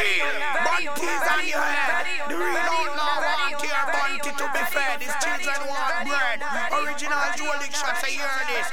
real. Bunties on your head. The real outlaw want your bunty to be fed. His children want bread. Original Jolik shots, I hear this.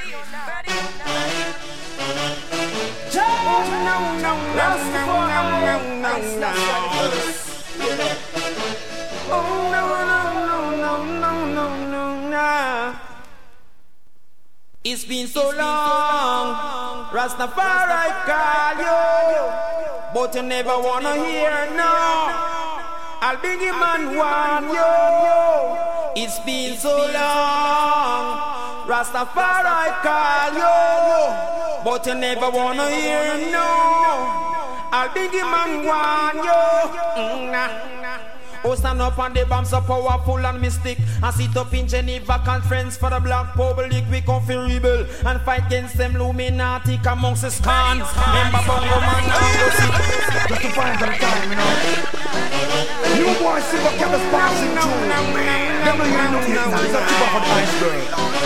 It's been so long, Rastafari call you, but you never wanna hear no. I'll be the man warn you. It's been so long, Rastafari call you, but you never wanna hear no. I'll be the man warn you. Oh, stand up on the bomb so powerful and mystic. And sit up in Geneva conference for the black public. We come for rebel and fight against them Illuminati amongst the scans. Remember Bongo Man and sit. Just to find some time, you know. New boy Silver kept us passing through. Never hear no hit now. It's a tip of an iceberg.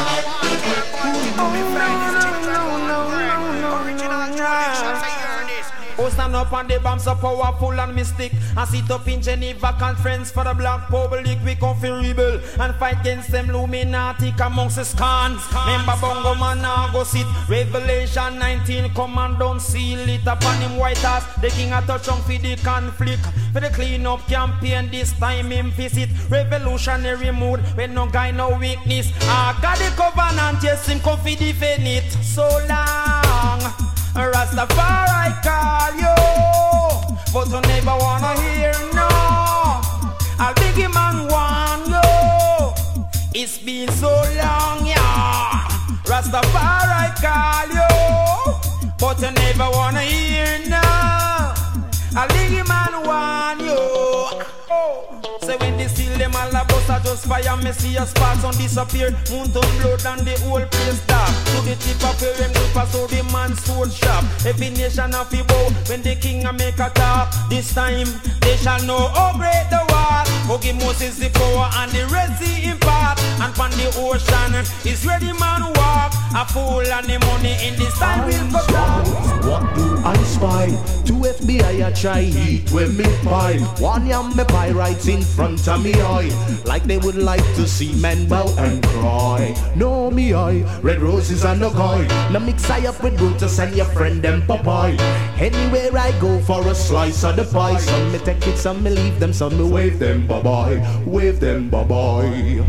Original Jolik shots, I hear this. Oh, stand up on the bomb so powerful and mystic. And sit up in Geneva conference for the black public. We come for rebel and fight against them Illuminati amongst the scans. Remember Bongo Man now go sit. Revelation 19 come and don't seal it upon him white ass. The king a touch on for the conflict. For the clean up campaign this time him visit. Revolutionary mood when no guy no weakness. I got the covenant, yes him come for defend it. So long Rastafari call you, but you never wanna hear no. I'll big him and warn you. It's been so long, yeah. Rastafari call you, but you never wanna hear no. I'll big him and warn you. Say when they steal them all the bus, I just fire Messiah sparks on disappear. Moon to blood and the whole place dark. To the tip of where them pass so the man's soul sharp. Every nation have to bow when the king a make a talk. This time they shall know how great the war. Who give Moses the power and the Red Sea impart. And from the ocean is where the man walk. A fool and the money in this time will go down. What do I spy? Two FBI I try heat when me pie. One yam me pirates in front of me eye. Like they would like to see men bow and cry. No me eye, red roses and no guy. Now mix I up with Brutus and your friend them Popeye. Anywhere I go for a slice of the pie. Some me take it, some me leave them, some me wave them bye-bye. Wave them bye-bye.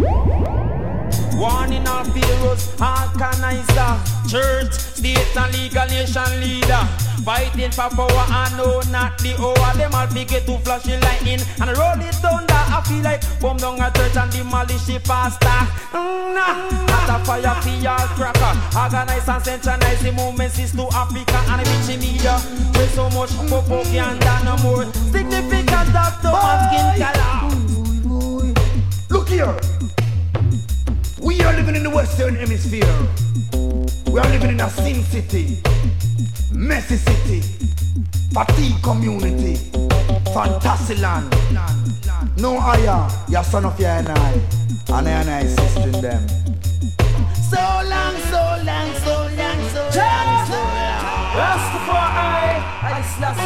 Warning of heroes, organizer, church, state and legal nation leader. Fighting for power and no, not the hour. Them all get to flash the lightning and roll it down that I feel like bomb down a church and demolish the pastor. Not a fire for y'all cracker. Organize and centralize the movements is to Africa and reach media. With so much popo and no more significant of the skin color. Look here. We are living in the Western Hemisphere. We are living in a sin city, messy city, fatigue community, fantasy land. No higher, your son of your and I assisting them. So long, so long, so long, so long, so long. Rastafari, I slash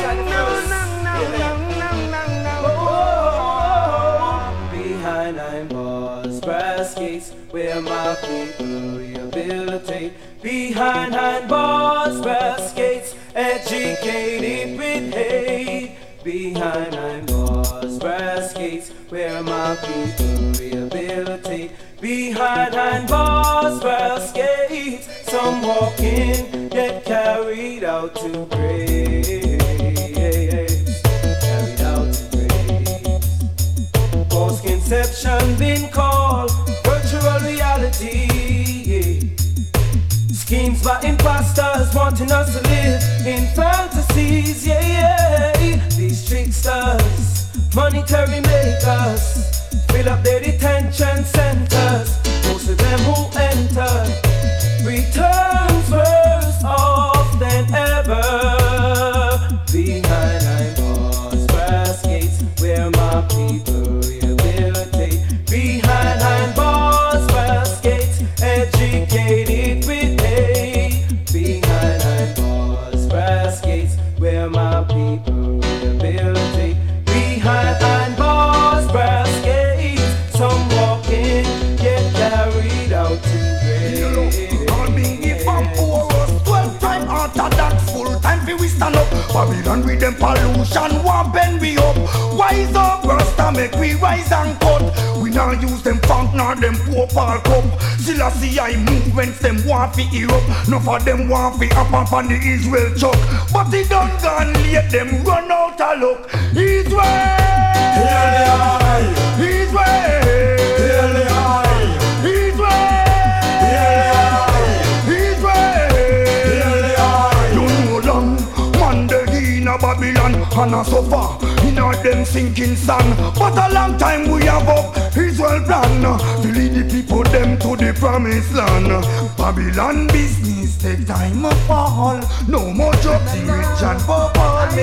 behind nine bars, brass gates, where my people rehabilitate. Behind nine bars, brass gates, educated with hate. Behind nine bars, brass gates, where my people rehabilitate. Behind nine bars, brass gates, some walk in, get carried out to grace. Carried out to grace. Post-conception been called virtual reality. Schemes by imposters wanting us to live in fantasies, These tricksters, monetary makers, fill up their detention centers. Most of them who enter returns worse off than ever. Behind nine bars, brass gates, where my people rehabilitate. Behind nine bars, brass gates, educated with hate. Behind nine bars, brass gates, where my people rehabilitate. Babylon with them pollution, want bend we up. Wise up, Rasta make we rise and cut. We now use them funk, nor them poor Paul cup. Still I see I movements, them want fi Europe. None of them want fi up on the Israel chuck. But they done gone late, them run out of luck. Israel! Babylon and a suffer in all them sinking sand. But a long time we have up Israel plan to lead the people them to the promised land. Babylon business take time to fall. No more drugs, rich and poor.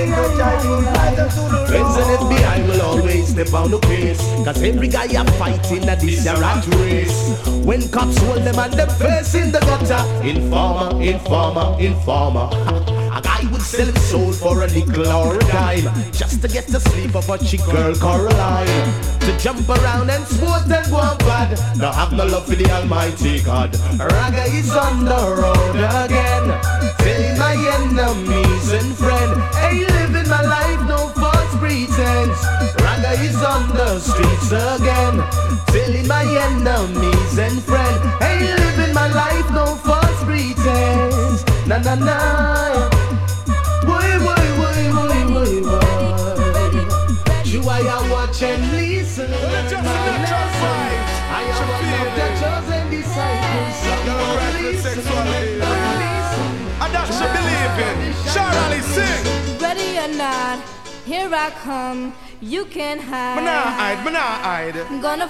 Friends and FBI will always step on the pace, cause every guy a fighting at this rat race. When cops hold them and them face in the gutter, informer, informer, informer. A guy would sell his soul for a nickel or a dime, just to get the sleep of a chick girl Coraline. To jump around and sport and go on bad, now have no love for the almighty God. Raga is on the road again, telling my enemies and friends, hey, living my life, no false pretense. Raga is on the streets again, telling my enemies and friends, hey, living my life, no false pretense. Na na na. Boy, boy, boy, boy, boy, boy. You I watch and listen. I am one of the chosen disciples. And that should believe in. Charlie, sing. Ready or not, here I come. You can hide. Me nah hide. I'm gonna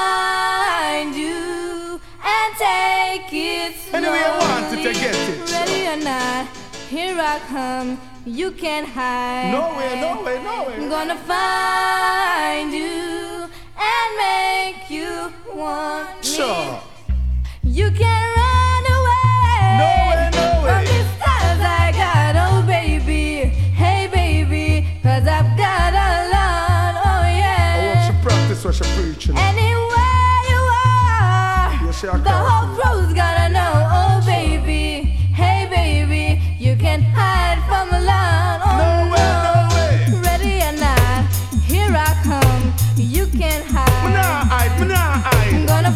find you and take it slowly. Anyway, I want to get it. Ready or not, here I come. You can't hide. No way, no way, no way. I'm gonna find you and make you want me. Sure. You can't run away. No way, no way. From these stars I got, oh baby. Hey baby, cause I've got a lot, oh yeah. I want you practice what you're preaching. Anywhere you are, Yes, I the can. whole crew's gotta know, oh baby. Hey baby, you can hide from a lot, oh No way, no way. Ready or not, here I come. You can hide. Me nah hide. I'm gonna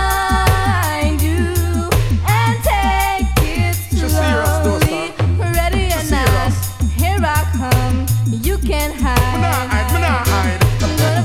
find you and take it She's serious though, slowly. sir. Ready or She's not, serious. here I come. You can Me nah hide. hide. I'm gonna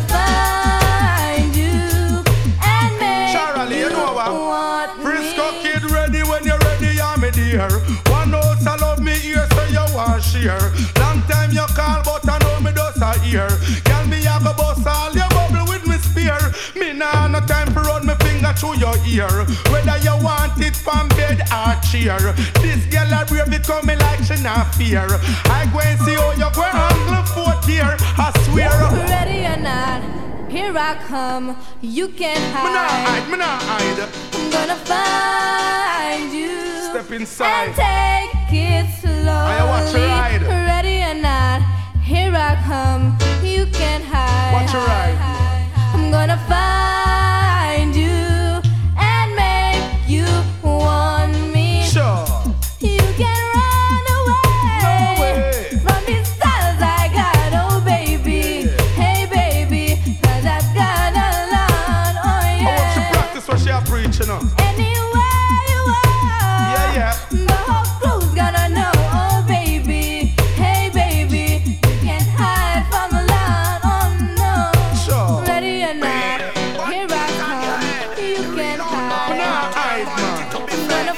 find you and make Charlie, you know what? want Frisco me. kid ready when you're ready, I'm me dear. One house I love me here, so you want share. Long time you call, but I know me does a ear. Girl, me have a bust all your bubble with me spear. Me nah no time for run me finger through your ear. Whether you want it from bed or chair. This girl a brave it coming like she not fear. I go and see how you go angle fourth year. I swear. Ready or not, here I come. You can hide. Me nah hide. I'm gonna find you. Step inside. And take it slowly. I watch you ride. Ready or not, here I come. You can hide. Watch you ride. I'm gonna find you and make you want me. Sure. You can run away. No way. From these stars I got, oh baby. Hey baby, cause I've got a lot, oh I want you yeah. practice what she a preaching on. Anywhere you are, Yeah. the whole crew's gonna know, oh baby. Hey baby, you can't hide from a lot, oh no. Sure. Ready or not, here I come. You can Me hide. nah hide, man. I'm gonna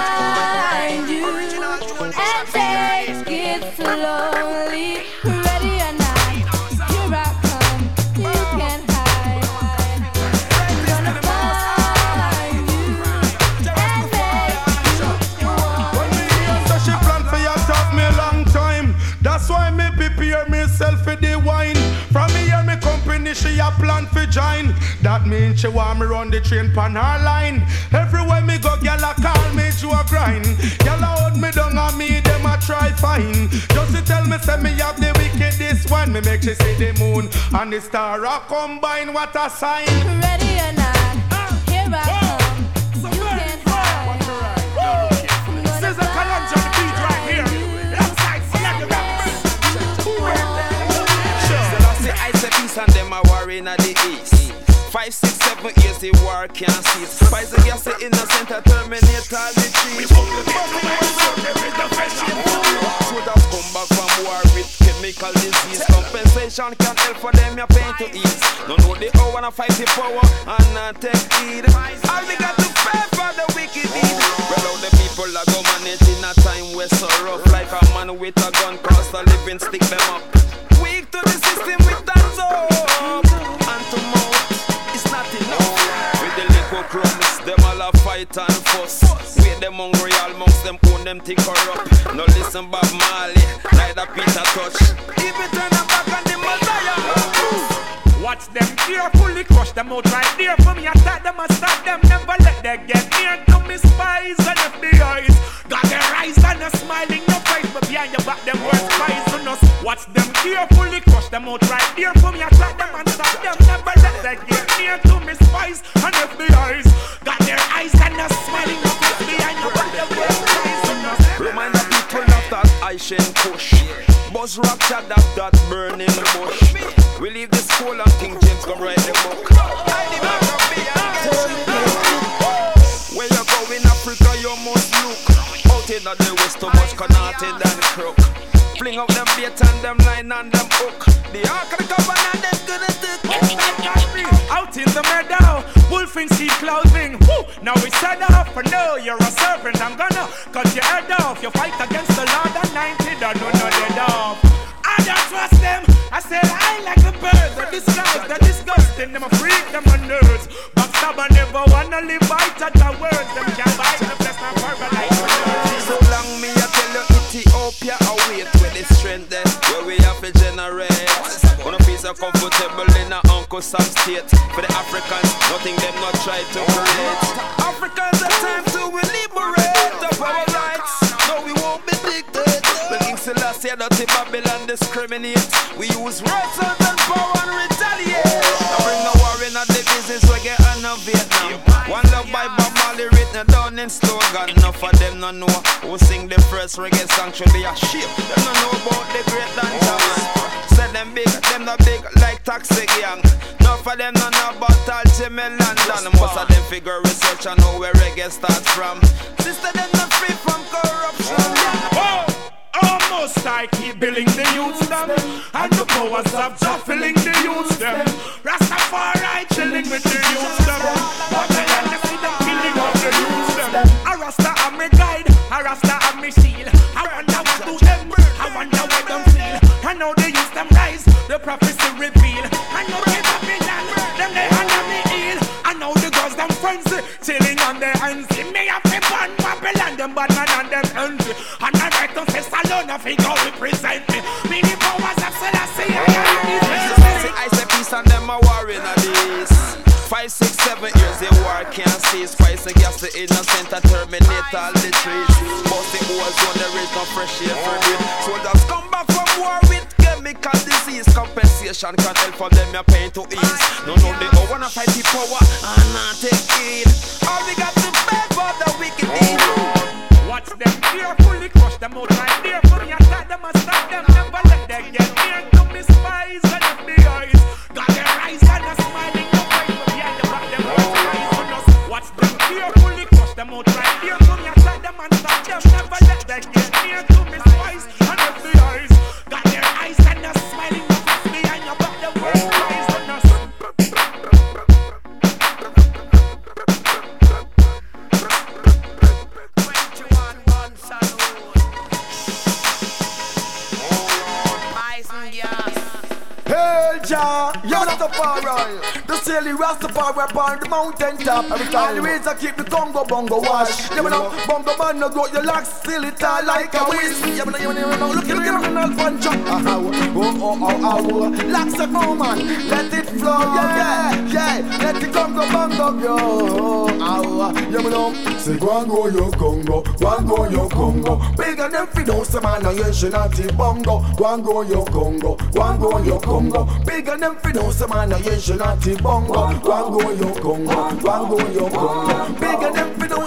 find you and take it slowly. Ready or not, here I come. You can hide. I'm gonna find you and make you want When me hear so she plan for you talk me a long time. That's why me prepare myself for the wine. From me hear me company she a plan for join. That means she want me run the train pan her line. Everywhere me go, gyal a call me to a grind. Gyal a hold me down and me them a try fine. Just to tell me say me have the wickedest one. Me make she see the moon and the star a combine. What a sign. Ready or not, here I come. You can hide. I'm gonna This is a Kalonji on the beat right here. find you Outside, select the rap. east and them are warring at the east. 5, 6, 7 years the war can't cease. Spice the gas the innocent and terminate all the trees. Soldiers come back from war with chemical disease. Compensation can't help for them, your pain to ease. Don't know the hour and fight the power and not take heed. All we got to pay for the wicked deed. Well, all the people are go manage in a time where so rough. Like a man with a gun cost a living, stick them up. Weak to the system with hands up. And to mouth, it's not enough. With the little crumbs, them all a fight and fuss. With them hungry, all monks, them own them think corrupt. No listen Bob Marley, neither Peter Touch. Even turn them back on the Messiah. Watch them carefully, crush them out right there. For me, attack them and stop them. Never let them get near to me spies and FBI's. Got their eyes and a smiling no face, but behind your back them words poisonous. Watch them carefully, crush them out right there. For me, attack them and stop them. Never let them get near to me spies and FBI's. Got their eyes and a smiling no face, behind your back them words poisonous. Remind the people of that Aishen Kush. Buzz rock chat that burning bush. We leave the school and King James go write the book. Where you go in Africa you must look. Out in the west too much connected and crook. Fling up them bait and them line and them hook. The ark of the covenant them gonna stick. Out in the meadow, wolf in sea clothing. Woo! Now we set up for no, you're a servant. I'm gonna cut your head off. You fight against the Lord and 90 don't know no dead off. I don't trust them. I said I like a bird. They're disguised, they're disgusting. Them a freak, them a nerds. Backstabber never wanna live by touch our words. Them can't bite the best not verbalize. So long me I tell you Ethiopia await with the strength there where we have to generate. Wanna feel so comfortable in a Uncle Sam state. For the Africans, nothing them not try to create. Africans are time to liberate of our rights. No, we won't be dictated. The King Selassie dirty Babylon discriminate. We use words and power and retaliate. I bring the war in at the business reggae and no Vietnam. One love by Bob Marley written down in slogan. Enough of them no know who sing the first reggae song should be a ship. Them no know about the great dancer. Said them big, them not big like Taxi Gang. Enough of them no know about all Jimmy London. Most of them figure research and know where reggae starts from. Sister them not free from corruption. Almost I keep billing the youths them. And the powers of Jah filling the youths them. Rastafari chilling with the youths them. But I see them killing of the youths them. A Rasta am my guide, a Rasta am my shield. I wonder what do them, I wonder what them feel. I know they use them rise, the prophecy reveal. I know they Babylon, them they under me heel. I know the girls them friends, chilling on their hands. See me have to burn Babylon, them bad man and them envy. And I write to say Salon, I think I'll represent me. Me the powers of Selassie, I say peace and them are warring at this. 5, 6, 7 years the war can't cease. Spice the gas the innocent and terminate all the trees. Bust the holes when there is no fresh air for them. Soldiers come back from war with chemical disease. Compensation can't help for them your pain to ease. No, they all wanna fight the power and not take it. All we got to pay for the wicked deed. Watch them carefully, crush them out right there. For me, attack them and stop them. Never let them get near to me spies and FBI's. Got their eyes and a smiling no face, but behind the back them words poisonous. Watch them carefully, crush them out right there. For me, attack them and stop them. Never let them get near to me spies and FBI's. Got their eyes and a smiling no face, behind the back them words poisonous. Hey, Jah, you're not a Rastafari. The silly Rastafari upon the mountain top. Every time the ways I keep the Congo bongo wash. You know, bongo man no go your locks still it all like a whiz. You know, look at the punch up. Oh. Locks a go man, let it flow. Yeah. Let the Congo bongo go. You know, say go and go your Congo, go and go your Congo. Bigger than Fidos man, no you should not bongo. Go and go your Congo, go and go your Congo. Bigger than Fidos man, no you should not bongo. Go and go your Congo, go and go your Congo. Bigger than Fidos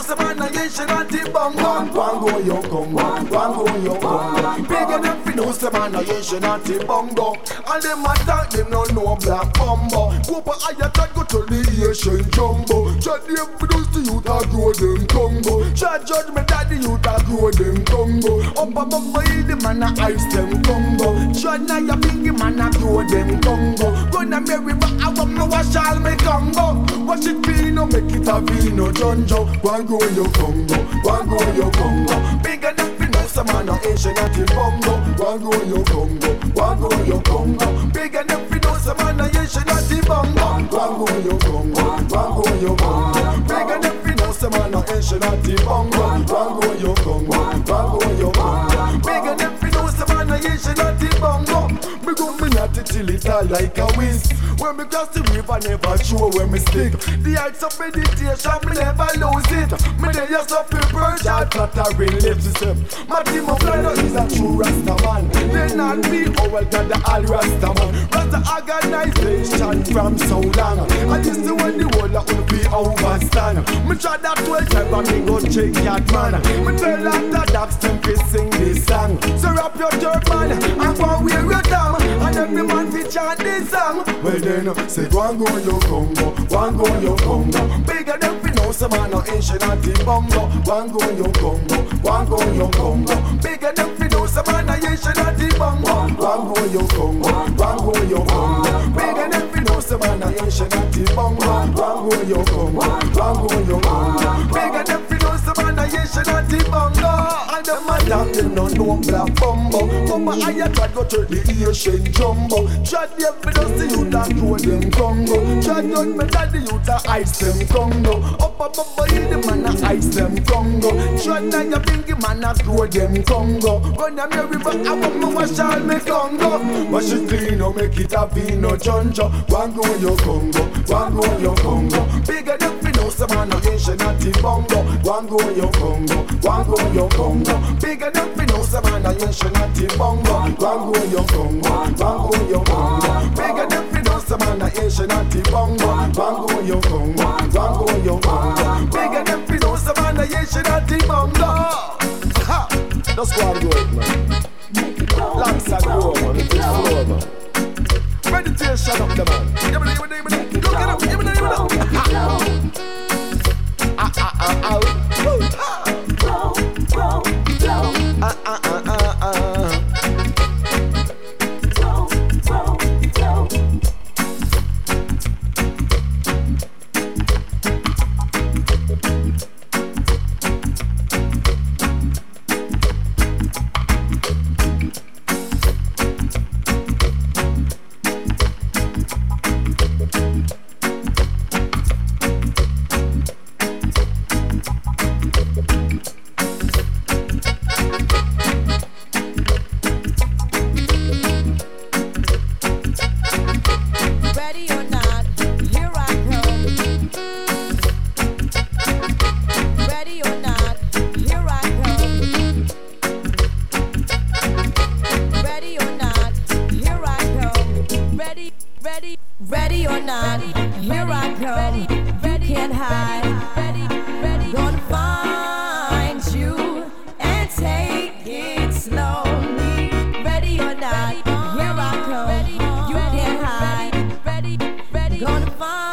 some man, I ain't shit at the bongo. Wango yo Congo, wango yo Congo. Big enough to know some man, I ain't shit at the bongo. And them attack, them no know black bombo. Go for higher tag, go to the Asian jumbo. Judge them for those to you that grow them Congo. Judge me daddy, you that grow them Congo. Up above my the man, I ice them Congo. Judge now you big man, I grow them Congo. Gonna marry but I want no wash all me Congo. Wash it vino, make it a vino Jonjo. Wango yo Congo, wango yo Congo. Big enough to know some man, I ain't shit at the bongo. Wango yo Congo, wango yo Congo. Big enough to know some man, I ain't shit at the bongo. Wango yo Congo, wango yo Congo. Big enough to know some man, I ain't shit at the bongo. Wango yo Congo, wango yo Congo. Big enough to know some man, I ain't shit at the bongo. Me go me not till it all like a whiz. When me cross the river, never show where me stick. The heights of meditation, me never lose it. Me dey just up in bird, I flattering lips system. My team of flyers is a true Rasta man. They not me, oh well, God the all Rasta man. Rasta organization from so long. And this is when the world will be overstand. Me try that 12 times and me go check that man. Me tell all the dogs them to sing this song. So wrap your turban and go wear your dam. And every man fi chant this song. Well then, say wango yo Congo, wango yo Congo. Bigger than fi know some man no ancient at the bongo. Wango yo Congo, wango yo Congo. Bigger than fi know some man no ancient at the bongo. Wango yo Congo, wango yo Congo. Bigger than fi know some man no ancient at the bongo. Wango yo Congo, wango yo Congo. Bigger than fi know some man no ancient at the bongo. And the madam them no know black bumbo. Come on, I try go to the Asian jumbo. Try them fi don't see you that grow them Congo. Try done me daddy you that ice them Congo. Up above my the man a ice them Congo. Try now you bingy man a grow them Congo. Run a merry but I want me wash all me Congo. Wash it clean or make it a vino Jonjo. Wango yo Congo, wango yo Congo. Bigger than fi know some man a Asian at the bongo. Wango yo Congo, wango yo Congo. Bigger than fi know some man a Asian at the bongo. Wango yo Congo, wango yo Congo. Bigger than fi know some man a Asian at the bongo. Wango yo Congo, wango yo Congo. Bigger than fi know some man a Asian at the bongo. Ha! That's what I'm doing, man. Alongside the road, man. It's the floor, man. Meditation up the man. Look it up, give me the Ready or not, here I come. You can't hide. Gonna find you and take it slowly. Ready or not, here I come. You can't hide. Gonna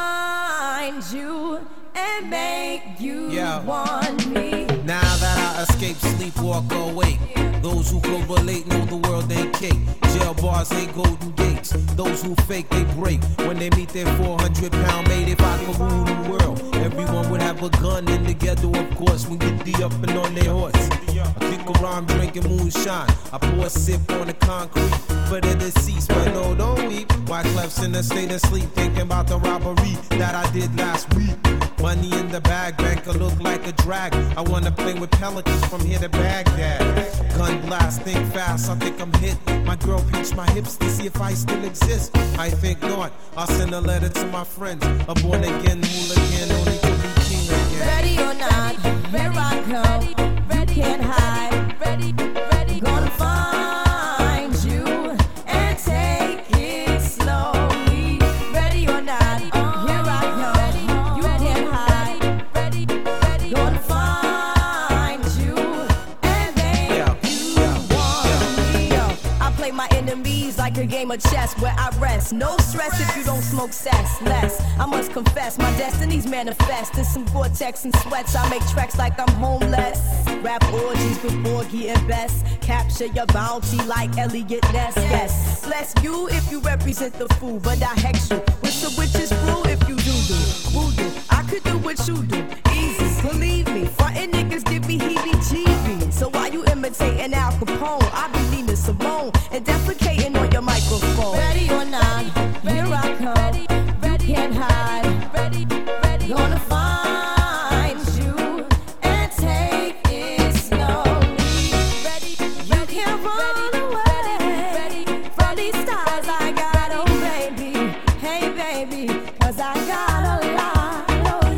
find you and make you want me. Now that I escape, sleep, walk, awake. Those who correlate know the world ain't cake. Jail bars ain't golden gates. Those who fake, they break. When they meet their 400-pound mate, if I could rule the world, everyone would have a gun in the ghetto, of course, when get D up and on their horse. I kick around drinking moonshine. I pour a sip on the concrete for the deceased, but no, don't weep. Why Clef's in a state of sleep, thinking about the robbery that I did last week. Money in the bag, banker look like a drag. I wanna play with pelicans from here to Baghdad. Gun blast, think fast, I think I'm hit. My girl pinched my hips to see if I still exist. I think not, I'll send a letter to my friends. A born again hooligan, only to be king again. Ready or not, here I come. You can't hide. Gonna find you and take it slowly. Ready or not, here I come. You can't hide. Gonna find became a chest where I rest. No stress if you don't smoke cess. Less, I must confess, my destinies manifest. In some Gore-Tex and sweats, I make tracks like I'm homeless. Rap orgies with Borgie and Best. Capture your bounty like Elliot Ness. Yes, bless you if you represent the fool, but I hex you with some witches brew if you do voodoo. I could do what you do, easy, believe me. Frontin' niggas give me heebie-jeebies. So why you imitating Al Capone? I be Nina Simone and defecating on your microphone. Ready or not, here I come. You can't hide. Gonna find you and take it slowly. You can't run away from these stars I got, oh baby. Hey baby, 'cause I got a lot, oh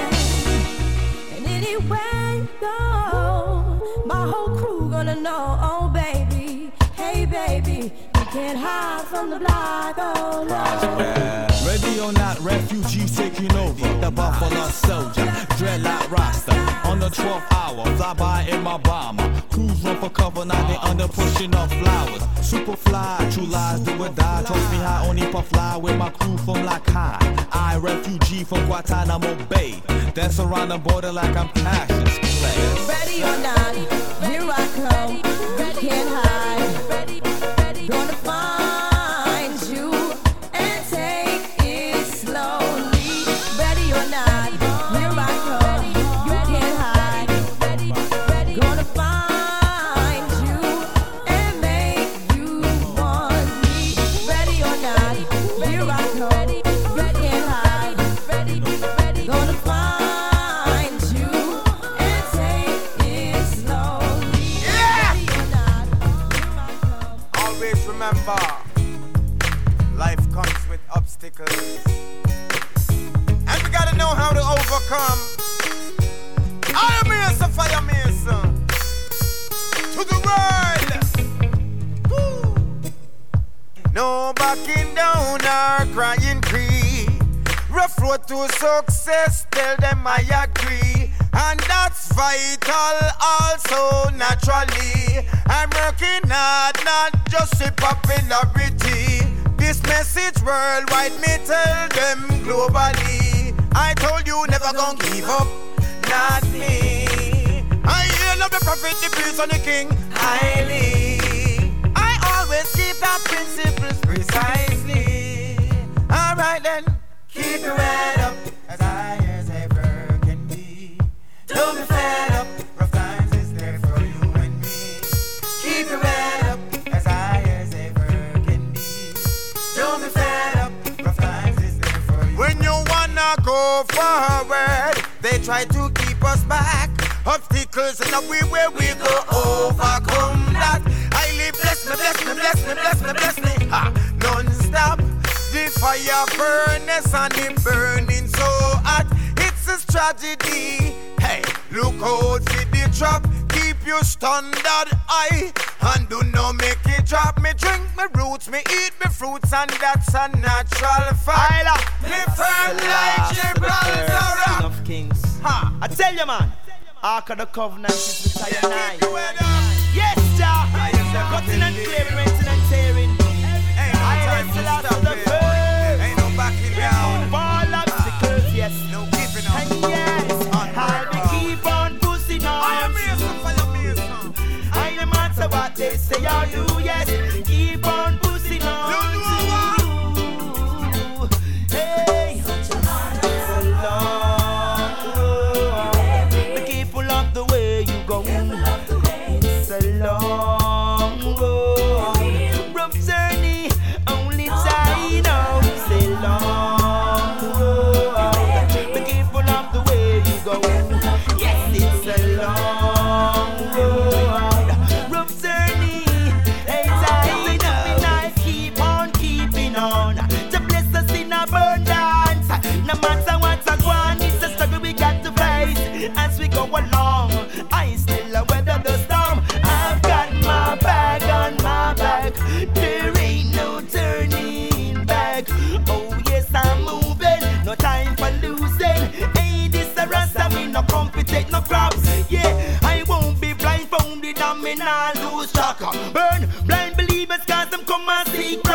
yeah. And anywhere you go, my whole crew gonna know, oh baby. Hey baby, you can't hide from the block, oh no. Ready or not, refugees taking over. The Buffalo Soldier, dreadlock roster. On the 12th hour, fly by in my bomber. Crews run for cover, now they under pushing off flowers. Super fly, true lies do or die. Toss me high, only puff fly with my crew from like high. I, refugee from Guantanamo Bay. Dance around the border like I'm Cassius Clay. Ready or not, here I come. You can't hide. Gonna find you and take it slowly. Ready or not, here I come. You can't hide. Gonna find you and make you want me. Ready or not, here I come. You can't hide. Gonna find you and take it slowly. Ready or not, here I come. Always remember, life comes with obstacles, and we gotta know how to overcome. Iron Mason, Fire Mason, to the world. Woo. No backing down or crying free. Rough road to success, tell them I agree. And that's vital also naturally. I'm working hard, not just a popularity. This message worldwide, me tell them globally. I told you never gonna give up, not me. I hail of the prophet, the priest and the king, highly. I always keep our principles precisely. Alright then, keep your head up as high as ever can be. Don't be fed up, rough times is there for you and me. Keep your head up as high as ever can be. Don't be fed up, rough times is there for you. When you wanna go forward, they try to keep us back. Obstacles in the way where we go overcome that. Highly bless me, bless me, bless me, bless me, bless me. Ha, non-stop. The fire furnace and it burning so hot. It's a tragedy. Hey, look out for the trap. Keep your standard high and do not make it drop. Me drink my roots, me eat my fruits, and that's a natural fact. Me firm like Gibraltar. Of Kings. Ha! I tell you, man. Ark of the Covenant is the type 9. Yes, Jah. Cutting and clearing, renting and tearing. I wrestle out of the first. Ain't no backing down. Fall obstacles, yes. No giving up. And yes, I'll be keep on pushing on. I am Mason, Fire Mason. I no matter what they say or do, yes. Keep on pushing on. Hey, so long. Be careful of the way you go. It's a long road. Rough journey, only time now. It's a long road. Be careful of the way you go. Yes, it's a long road. Rough journey, hey time now. Keep on keeping on. To bless us in abundance. No matter what's a one, it's a struggle we got to face as we go along. I still weather the storm. I've got my bag on my back. There ain't no turning back. Oh yes, I'm moving. No time for losing. Hey, this a rasta, me no compete, no crops. Yeah, I won't be blindfolded and me not lose track. Burn blind believers cause them come and see crops.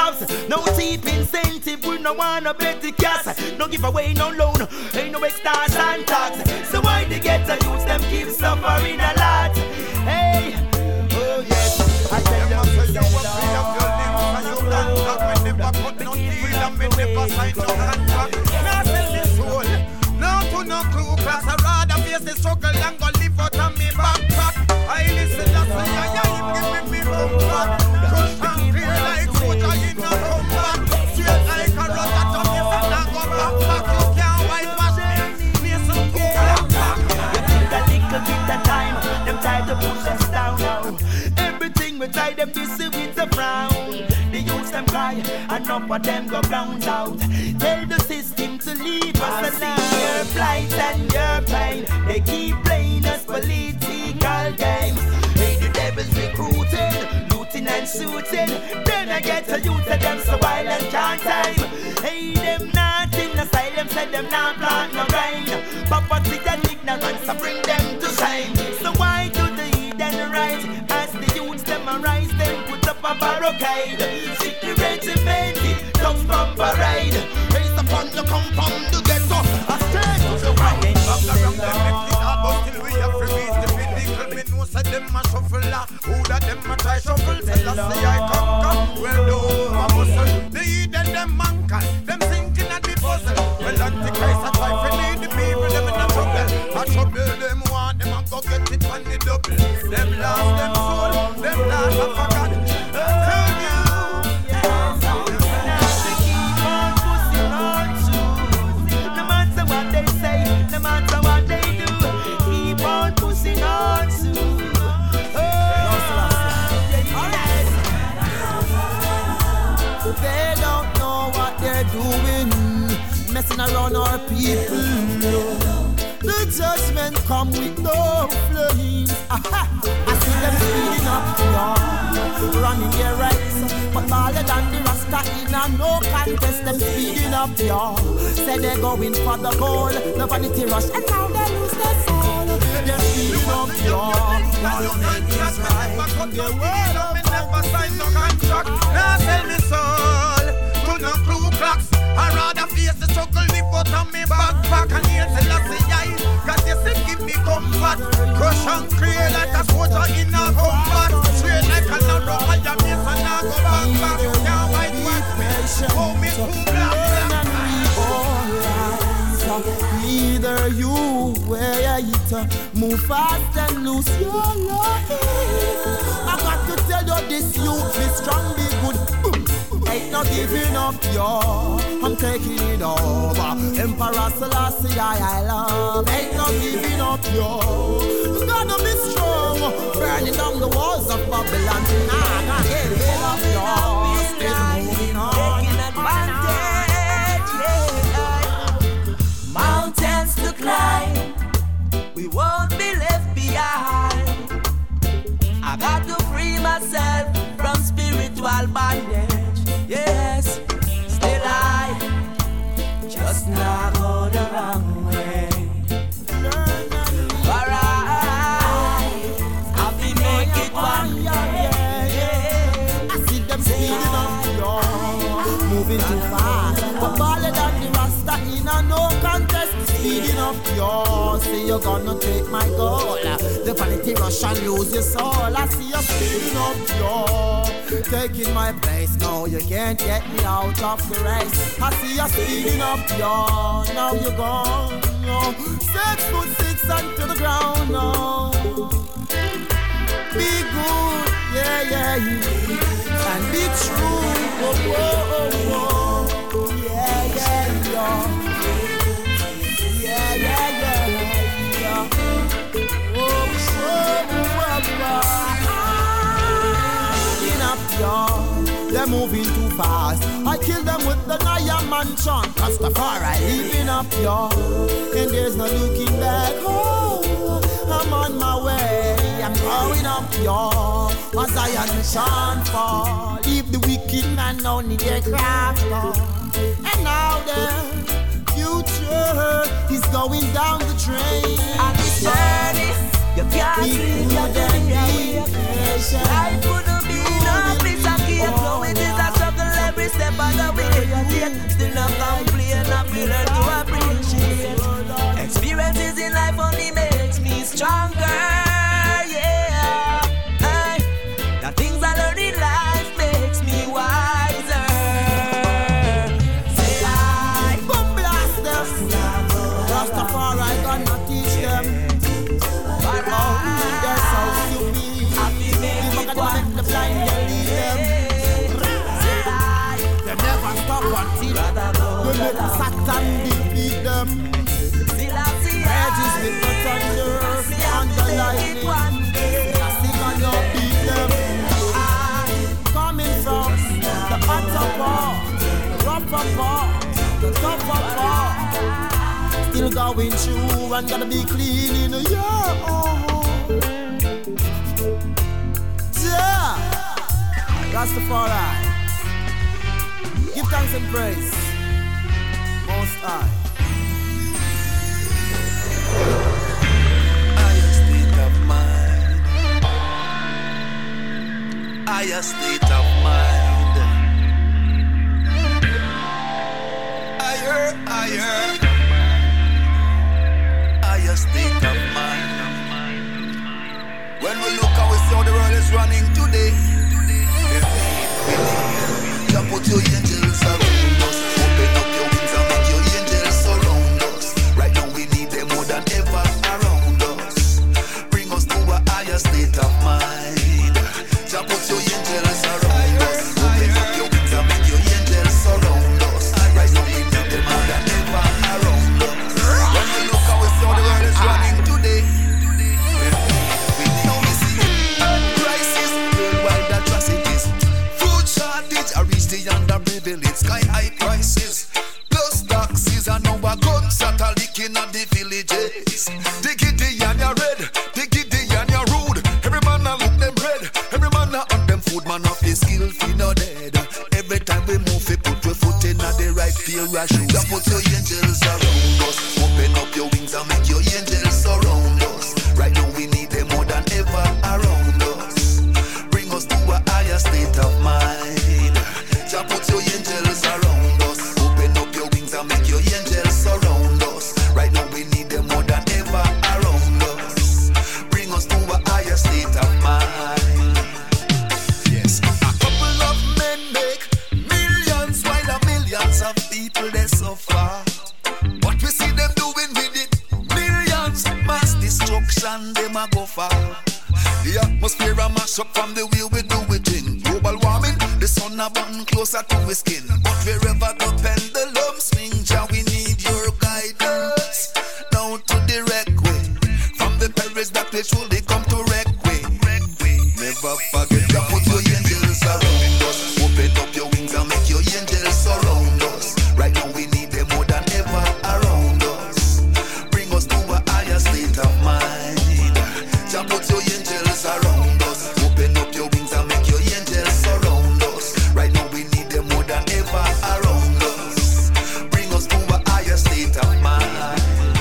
No cheap incentive, we no want no petty cash. No give away no loan, ain't no extras and tax. So why they get the youths, them keep suffering a lot? Hey, oh yes, I tell them you say you will free up your limbs and you can't talk. We never cut no deal and we never sign no contract. Now sell this soul, now to no crew class. I rather face the struggle and go live out on me backpack. I listen, that's why I give me comfort. Crush and clear like soldier in a combat. Straight like a rod that on me and I go back. You can't whitewash me, play some cool back. You need a little bit of time, them try to push us down now. Everything we try them busy with a frown. The youths them cry, enough of them go ground out. Tell the system to leave us alone. Your plight and your pain, they keep playing us political games. Hey, the devil's recruiting, looting and shooting. Then I get a youth of them so violent can't time. Hey, them not in asylum, said them not plant no rain. Poverty and ignorance, I bring them to shame. So why do the heathen rise? As the youths them arise, them put up a barricade. Sick the regimented, tongues from parade. Raise upon the compound to get up. A straight to the right. Up around them, make it hard, but still we have to reach the pinnacle. Me know say them a shuffle la. Who that them a try shuffle? Tell us say I conquer. Well, no, I muscle. The heathen them mankind, them thinking at the puzzle. Well, Antichrist a try to lead the people, them in a trouble. A trouble them want, them a go get it on the double. Them lost them soul, them lost a forgot. Tell you, they keep on pushing on to. No matter what they say, no matter what they do, keep on pushing on to. They don't know what they're doing, messing around our people. The judgment come with no flames. Aha! I see them speeding up, y'all, running their rights. But taller than the Rasta in a no contest, them speeding up, y'all. Say they're going for the goal, the vanity rush, and now they lose their soul. They're speeding up, y'all. Y'all make it right. They word up, never sign no contract. Now tell me soul, to no crew clocks. I rather face the struggle, live out on me backpack. And here till I say I, cause you say give me comfort. Crush and clear like a soldier in a combat. Straight like a narrow fire base and I go back. You can't whitewash me, hold me too black. Either you wear it, move fast and lose your life. I got to tell you this, you be strong, be good. Ain't no giving up, yo. I'm taking it over. Emperor Selassie, I love. Ain't no giving up, yo. Gotta be strong. Burning down the walls of Babylon. Nah, not giving up, yo. Still moving on. Taking advantage, yeah. Mountains to climb. We won't be left behind. I got to free myself from spiritual bondage. Yes, still I just not go the wrong way. Alright, I'll be make it one day. I see them speeding up, y'all, moving too fast. But taller than the Rasta in a no contest. Speeding up, y'all, say you're gonna take my goal. The vanity rush and lose your soul. I see you speeding up, y'all, taking my place. No, you can't get me out of the race. I see you speeding up, y'all. Now you're gone, no. 6'6" onto the ground, no. Be good, yeah, yeah, yeah. And be true, oh, oh, oh, oh. Yeah, yeah, yeah. Yeah, yeah, yeah, yeah. Oh, oh, oh, y'all. They're moving too fast. I kill them with the Naya Mansion. Rastafari living up, y'all. And there's no looking back. Oh, I'm on my way. I'm growing up, y'all. As Zion shine fall. Leave the wicked man on in their craft. And now their future is going down the drain. On this journey, you can't sleep, you can't be patient. Life couldn't be no piece of cake. No, it is a struggle every step of not complain, I feel learn to appreciate. Experiences in life only makes me stronger, yeah. Hey, the things I learn in life makes me wiser. Say I bomb blast them. Rastafari gonna teach them. That's how you be. We're gonna make the blind lead them. They never stop until we make Satan defeat them. Edges with the thunder and the lightning. Sing on your beat them. Coming from the upper part, the rougher part, the tougher part. Still going through and gonna be clean in a year. Yeah, Rastafari. Give thanks and praise, Most High. Higher state of mind. Higher state of mind. Higher, higher. Higher state of mind. When we look and we see how the world is running today, you put your angels around us. Open up your wings and make your angels surround us. Right now we need them more than ever around us. Bring us to a higher state of mind. You put your angels around us. Open up your wings and make your angels surround us. Right now we need them more than ever around us. When we look and we see how the world is running today, we see crisis, worldwide atrocities, food shortage, I reach the underprivileged, sky high prices, plus taxes, and now a guns that are leaking at the villages. They get the and you red, they get the and you rude. Every man a look them red, every man a on them food, man off his skill, fi no dead. Every time we move, we put your foot in at the right parachute. Just put your angels around us, open up your wings and make your angels surround us. Right now we need them more than ever around us. Bring us to a higher state of mind. Just put your angels around us. Open up your wings and make your angels surround us. Right now we need them more than ever around us. Bring us to a higher state of mind. Yes, a couple of men make millions while a millions of people they suffer. What we see them doing with it, millions, mass destruction, them a go far. The atmosphere a mash up from the way we do it in. Global warming, the sun a burn closer to his skin. But wherever the pendulum swings, yeah, we need your guidance. Down to the wreck way, from the perils that we surely come to wreck way. Never forget to put your angels around us. Open up your wings and make your angels surround us. Right now we need them more than ever around us. Bring us to a higher state of mind. Just put your angels around us. Open up your wings and make your angels surround us. Right now we need them more than ever around us. Bring us to a higher state of mind.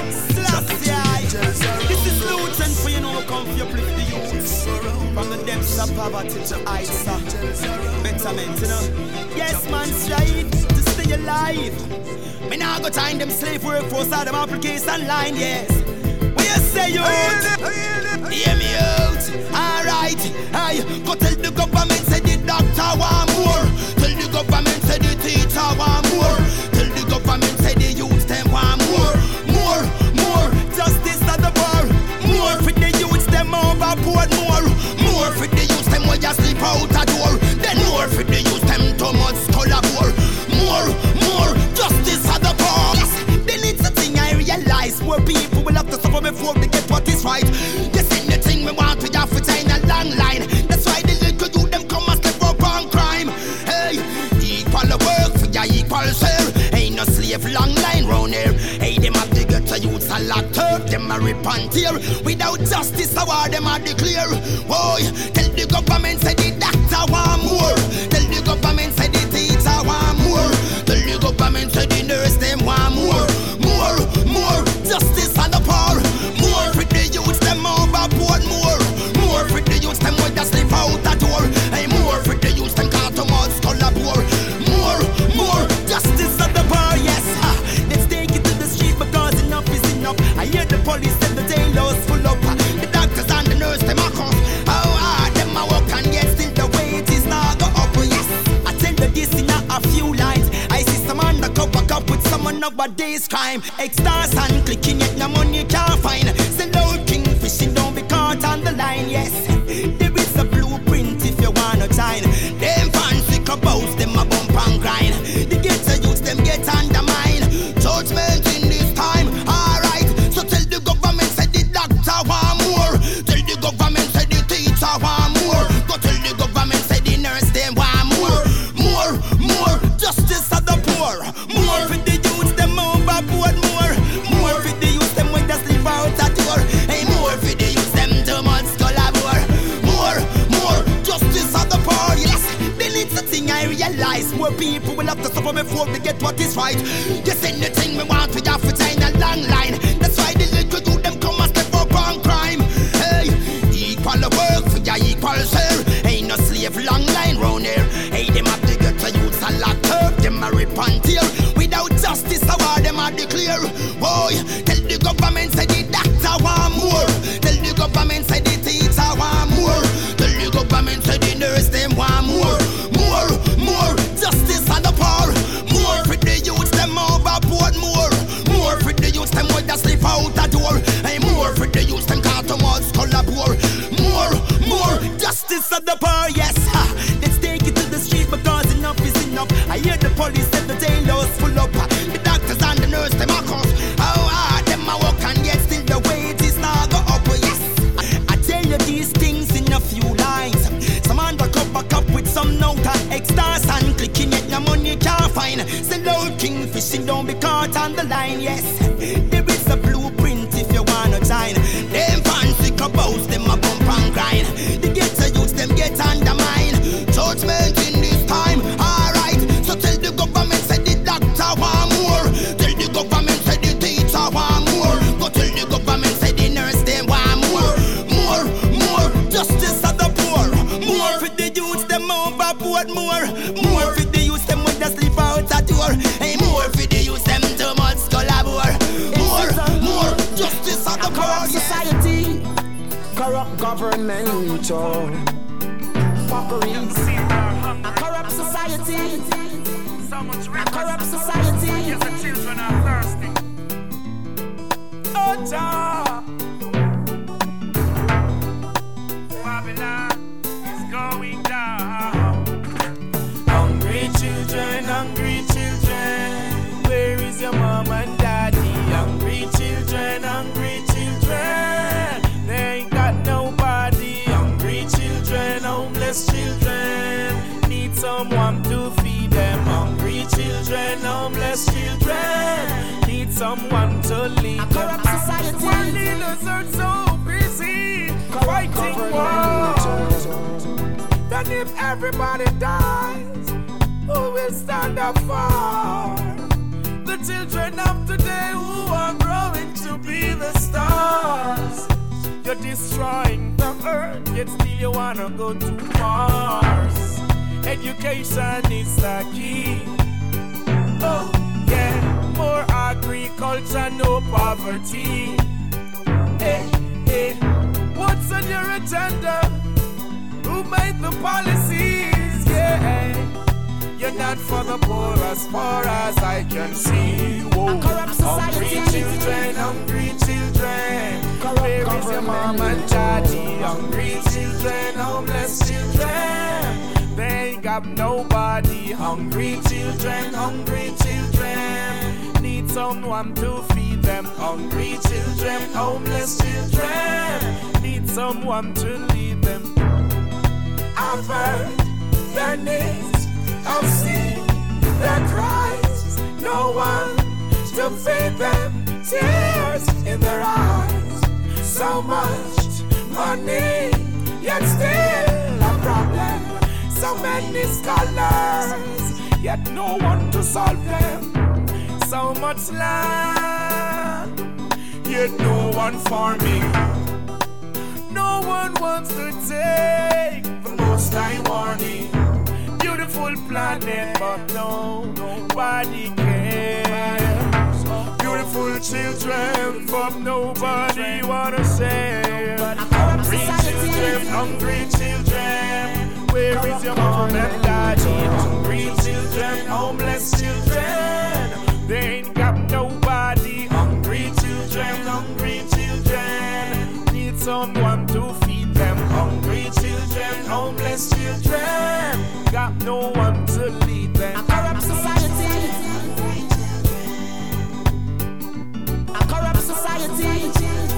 This is Luton for you know come for your uplift the youth. From the depths of poverty to heights of betterment, you know. Yes, man, strive to stay alive. Me now go time them slave workforce out them application line, yes. What you say, youth? Hear me out. Alright, hey, go tell the government say the doctor want more. Tell the government say the teacher want more. Tell the government say the youth them want more. More, more, justice at the bar. More for the youth them overboard. More for the youth them when you sleep out a door. Then more for the youth them too much collabore. More, justice at the bar. Yes, then it's a thing I realize. More people will have to suffer before they get what is right. This ain't the thing we want to have to in a long line. That's why the little youth them come and step up on crime. Hey, equal work for your equal share. Ain't no slave long line round here. Hey, them have to get to youths a locked up. Them a rip and tear. Without justice, a war them a declare. Boy, tell the government say the doctor want more. Tell the government say the teacher want more. Tell the government say the nurse them want more. More, justice and the power. More for the youths them overboard. More for the youths them when they slip out the door. Hey, more for the youths them can't come out collabore. More, justice and the power. on nowadays crime. Extras and clicking yet no money can't find. Send out kingfishing, don't be caught on the line. Yes, there is a blueprint if you wanna join. Them fancy cabos, them a bump and grind. The ghetto youths, them get undermined. Judgment in this time, alright. So tell the government, say the doctor want more. Tell the government, say the teacher want more. Go tell the government, say the nurse, them want more. More justice of the poor. More for the youths, them overboard. More for the youths, them when they sleep out at door. Hey, more for the youths, them too much collaborate. More justice of the poor. Yes, they need the thing I realize. More people will have to suffer before they get what is right. Yes, anything we want, we have to sign a long line. That's why the little youth them come and step up on crime. Hey, equal work for your equal share. Ain't no slave long line round here. Hey, them have to get to youths a locked up. Them a rip and tear. Without justice, how are them a declare? Boy, tell the government say the doctor want more. Tell the government say the teacher want more. Tell the government say the nurse them want more. More justice and the power. More for the youths them overboard. More for the youths them with the sleep out the door. Hey, more for the youths them can't towards collaborate. More justice and the power. Yes, let's take it to the street because enough is enough. I hear the police and the jailers full up. The doctors and the nurse them a cost. How hard them a work and yet still the wages now go up. Yes, I tell you these things in a few lines. Some undercover cop with some note and extras and clicking yet no money can't find. Send out kingfishing, don't be caught on the line. Yes, there is a blueprint if you wanna join. Them fancy cabos, them a bump and grind. The ghetto youths, them get undermined. Judgment in this time, alright. So tell the government, say the doctor want more. Tell the government, say the teacher want more. Go tell the government, say the nurse, them want more. Justice of the poor. More for the youths, them overboard. More for the youths, them when they sleep out at door. Hey, more for the youths, them too much collaborate. More justice of the poor. Corrupt society, corrupt government, fuckeries. A corrupt society, a corrupt society. Yes, the children are thirsty. Oh, Jah. Babylon is going down. Hungry children, where is your mom and daddy? Hungry children, they ain't got nobody. Hungry children, homeless children, need someone to feed them. Hungry children, homeless children, need someone to lead them. Corrupt society. World leaders are so busy fighting wars. Then if everybody dies, who will stand up for the children of today who are growing to be the stars? You're destroying the earth, yet still you wanna go to Mars. Education is the key. Oh yeah, more agriculture, no poverty. Hey, what's on your agenda? Who made the policies? Yeah, you're not for the poor as far as I can see. Whoa. Hungry children, where is your mom and daddy? Hungry children, homeless children, they ain't got nobody. Hungry children, need someone to feed them. Hungry children, homeless children, need someone to lead them. I've heard their names, I've seen their cries. No one to feed them, tears in their eyes. So much money, yet still a problem. So many scholars, yet no one to solve them. So much land, yet no one farming. No one wants to take the most high warning. Beautiful planet, but nobody cares. Beautiful children, but nobody wanna save. Hungry children, where is your mom and daddy? Hungry children, homeless children, they ain't got no one to lead them. A corrupt society. A corrupt society.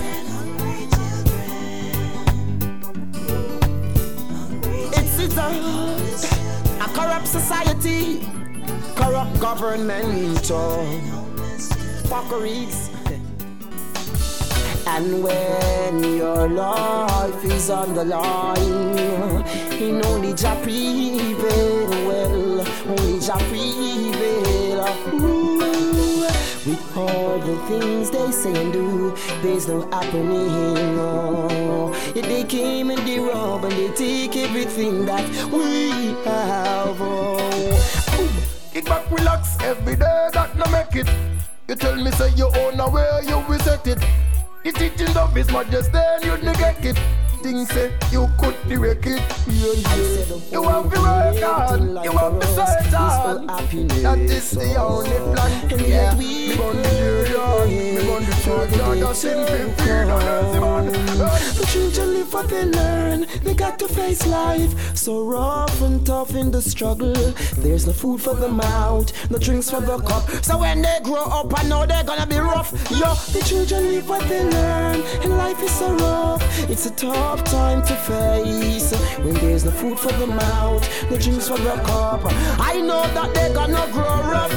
It's a corrupt society. Corrupt government. Fuckeries. And when your life is on the line, in only Jah prevail, well, only Jah prevail. Ooh, with all the things they say and do, there's no happening. Oh, if they came and they rob and they take everything that we have. Oh, kick back, relax every day, that no make it. You tell me say you own a way, you will set it. The teachings of His Majesty, you'd neglect it. Things say you could direct it. You have to work hard, you have to search hard. That is the only plan. Yeah, me gon' the church, me gon' the church. That's simply fear on earth, man. The children live what they learn. They got to face life so rough and tough in the struggle. There's no food for the mouth, no drinks for the cup. So when they grow up, I know they're gonna be rough. Yo, the children live what they learn, and life is so rough. It's a tough time to face when there's no food for the mouth, no drinks for the cup. I know that they're gonna grow rough.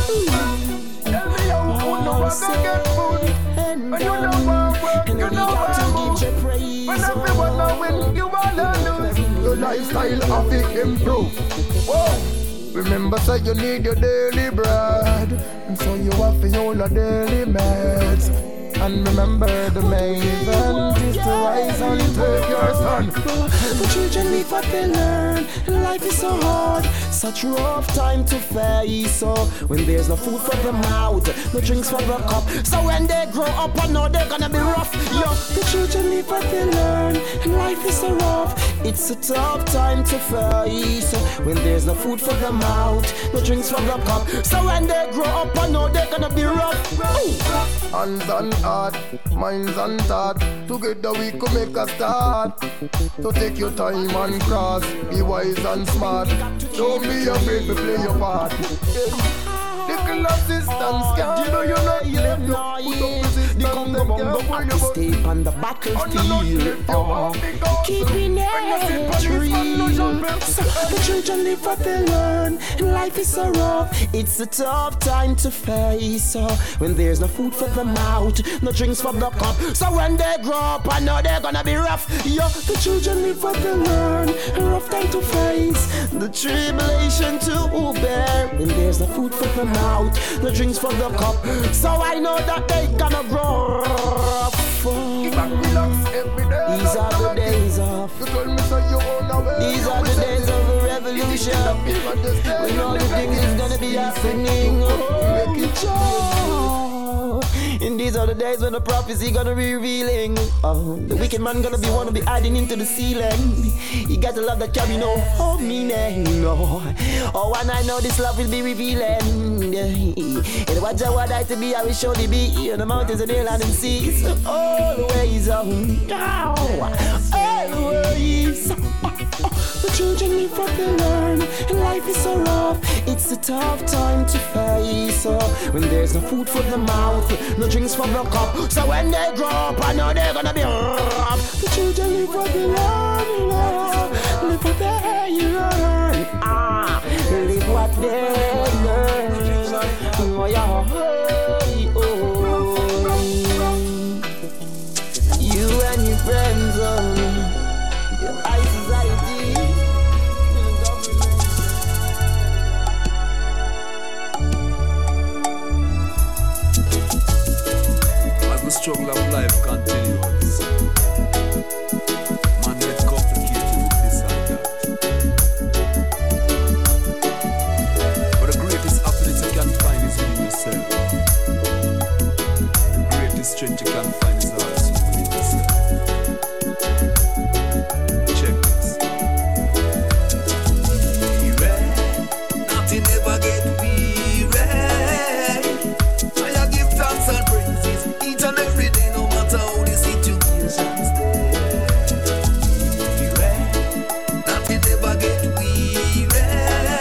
Every young food no one gonna get food. When you know work, you know work. When everyone know when you wanna lose, your lifestyle have to improve. Whoa. Remember, say you need your daily bread, and so you have to hold your daily meds. And remember the main event is to rise and take your son. The children live what they learn, and life is so hard, such rough time to face. So when there's no food for the mouth, no drinks for the cup. So when they grow up, I know they're gonna be rough. Yo, the children live what they learn, and life is so rough. It's a tough time to face when there's no food for the mouth, no drinks for the cup. So when they grow up, I know they're gonna be rough. Hands on heart, minds on thought. Together we could make a start. So take your time and cross, be wise and smart. Don't be afraid to play your part. Little assistance, can't you know you're not left. You put up resistance, they can't stay on the battlefield. Keeping it real. So the children live what they learn, and life is so rough. It's a tough time to face when there's no food for the mouth, no drinks for the cup. So when they grow up, I know they're gonna be rough. Yo, the children live what they learn, a rough time to face, the tribulation to bear when there's no food for the mouth, no drinks for the cup. So I know that they gonna grow rough. These are the days of. These are the days of a revolution. When all the things is gonna be happening. And these are the days when the prophecy gonna be revealing. The wicked man gonna be one to be hiding into the ceiling. You got to love that carry no meaning. No. Oh, and I know this love will be revealing. And what I want I to be, I will surely be in the mountains and the land and seas. Always on. Always. The children live what they learn, and life is so rough. It's a tough time to face when there's no food for the mouth, no drinks for the cup. So when they grow up, I know they're gonna be rough. The children live what they learn, live what they learn. Live what they learn. Oh, yeah. You and your friends, your high society. The struggle of life continues. Man gets complicated with this and that. But the greatest happiness you can find is within yourself. The greatest strength you can find is also within yourself. Check this. Nothing ever get weary. I give thanks and praises each and every day, no matter how the situations stay. Nothing ever get weary.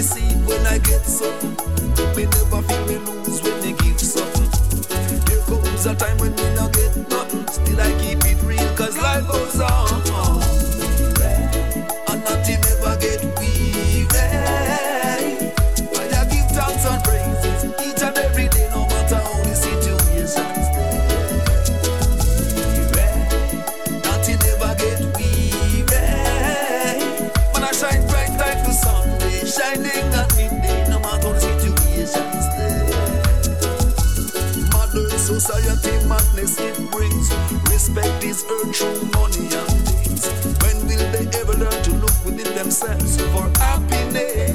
receive when I get something. Me never feel me lose when me give something. There comes a time when me not get nothing. Still I keep it real cause life goes on. And nothing never get weary. I give thanks and praises each and every day, no matter how the situations nothing never get weary. When I shine bright like the sun, shining at midday, no matter how the situations modern society madness it brings. Respect is earned through money and things. When will they ever learn to look within themselves for happiness?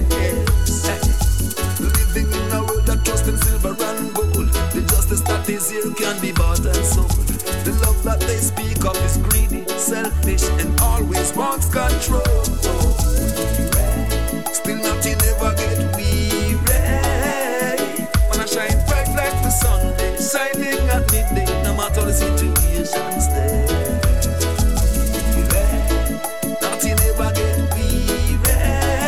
Living in a world that trusts in silver and gold. The justice that is here can be bought and sold. The love that they speak of is greedy, selfish, and always wants control. Still nothing ever get weary. When I shine bright like the sun, shining at midday, no matter the situations there. Nothing ever get weary.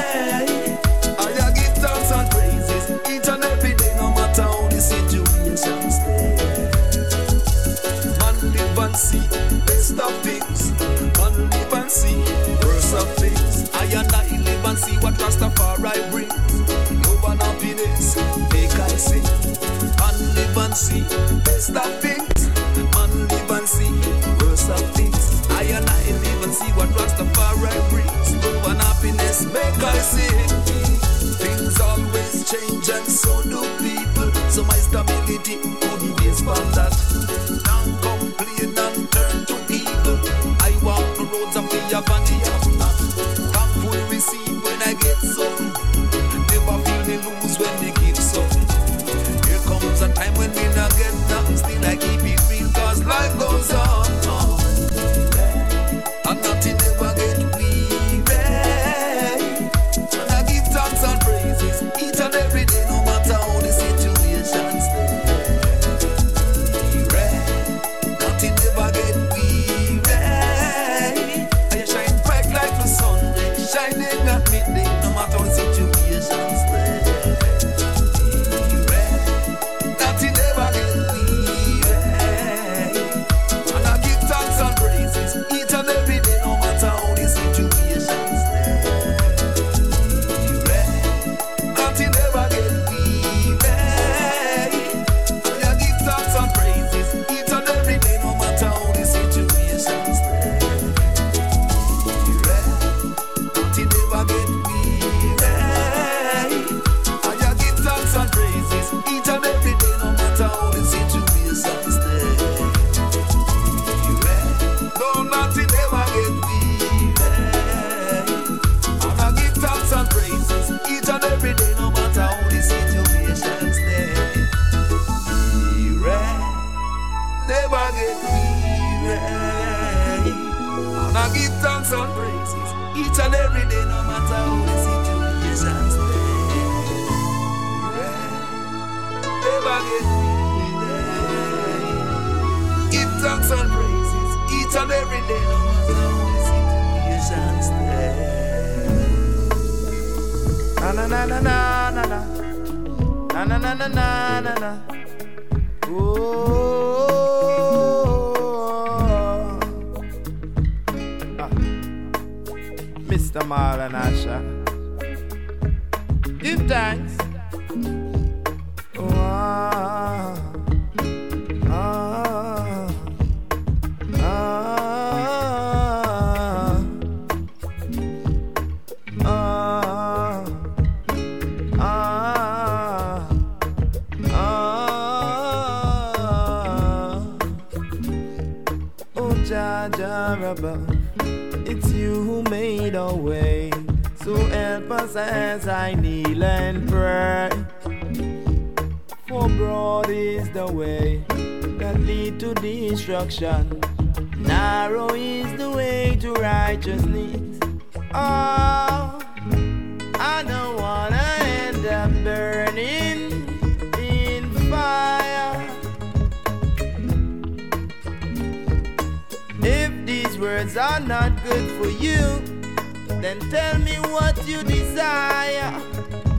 I give thanks and praises each and every day, no matter how the situations there. Man live and see best of things. Man live and see worst of things. I and I live and see what Rastafari brings. Love and happiness, make I sing. Man live and see best of things. Man live and see worst of things. I and I live and see what Rastafari brings. Love and happiness, make I sing. Things always change and so do people. So my stability couldn't be from that. Don't complain and turn to evil. I walk the roads of the have and the have not. Thankful receive when I get something. Never feel me lose when they give something. Here comes a time when me not get nothing. Still I keep it real cause life goes on. And nothing ever get weary. And I give thanks and praises each and every day, no matter how the situations nothing ever get weary. I shine bright like the sun, shining at midday, no matter how the situations nothing ever get weary. And I give thanks and praises each and every day, no matter how the situations nothing ever get weary. And I give thanks and praises each and every day, no matter how the situations nothing ever get weary. And I give thanks and praises each and every day, no matter how the situations no, nothing ever get weary. And I give thanks and praises each and every day, no matter how the situations never get weary. And I give thanks and praises each and every day, no matter how the situations never get weary. Give thanks and praises each and every day, no matter how the situations Na na na na na na na na na na na na na. Mr. Marlon Asha, give thanks. It's you who made a way, so help us as I kneel and pray. For broad is the way that lead to destruction, narrow is the way to righteousness. Oh, I don't wanna end up burning in fire. If these words are not good for you, then tell me what you desire.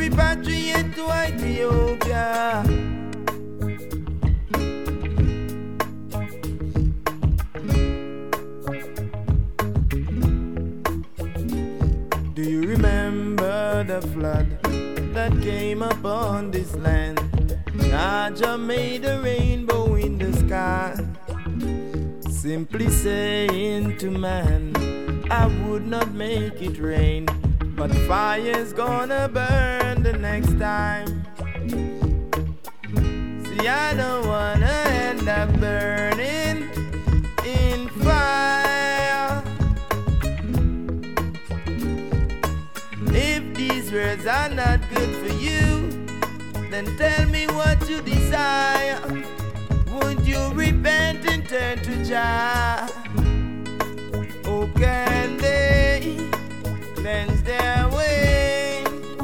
repatriate to Ethiopia. Do you remember the flood that came upon this land? Jah made a rainbow in the sky, simply saying to man, I would not make it rain, but fire's gonna burn the next time. See, I don't wanna end up burning in fire. If these words are not good for you, then tell me what you desire. Would you repent and turn to Jah? Oh, can they cleanse their way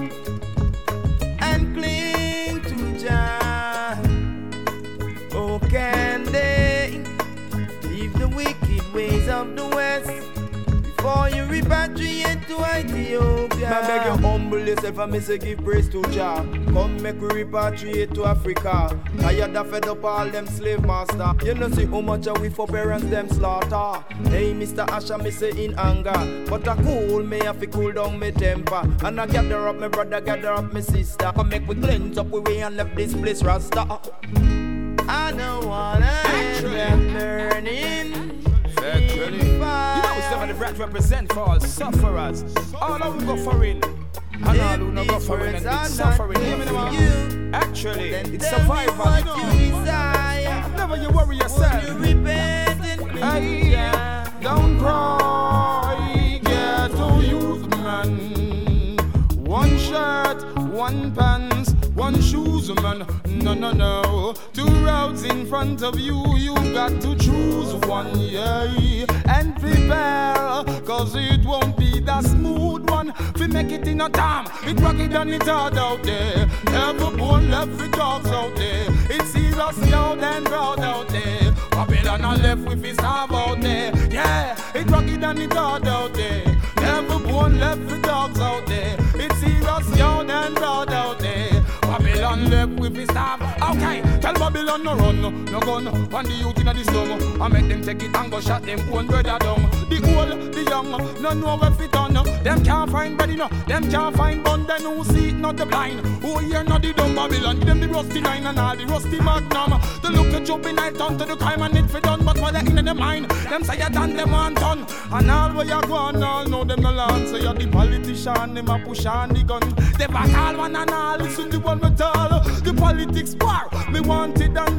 and cling to Jah? Oh, can they leave the wicked ways of the West before you repatriate to Ethiopia? I beg you humble yourself and me say give praise to Jah. Come make we repatriate to Africa. Tired of fed up all them slave master. You know see how much we for parents them slaughter. Hey Mr. Asher me say in anger, but I cool me have to cool down me temper. And I gather up my brother, gather up my sister. Come make we cleanse up we way and left this place rasta. I don't wanna end up burning. You know some of the brats represent for all sufferers. All of them go for it. And all who no go for it and it's suffering. Actually, it's survival. Never you worry yourself. Hey, don't cry, get to youth man. One shirt, one pants, one shoes man. No. 2 routes in front of you, you got to choose one, yeah. And prepare, cause it won't be the smooth one. If you make it in a time, it rocky and it hard out there. Never born left with dogs out there. It's serious loud and proud out there. Babylon are left with his arm out there. Yeah, it rocky and it hard out there. Never born left with dogs out there. It's serious loud and proud out there. Babylon left with his staff. Okay, tell Babylon no run, no gun. On the youth in the slum, I make them take it and go shot them own brother down. The old, the young, no know where fit on. Them can't find bread, no. Them can't find bun. Then who see it, not the blind. Who hear not the dumb Babylon. Them the rusty nine and all the rusty magnum. The look at jumping night on to the crime and it for done. But while they're in the mind, them say you done them one done. And all where you go on, all know them no land. So you're the politician, them a push on the gun. They back all one and all, listen to one metal. The politics bar, me want it down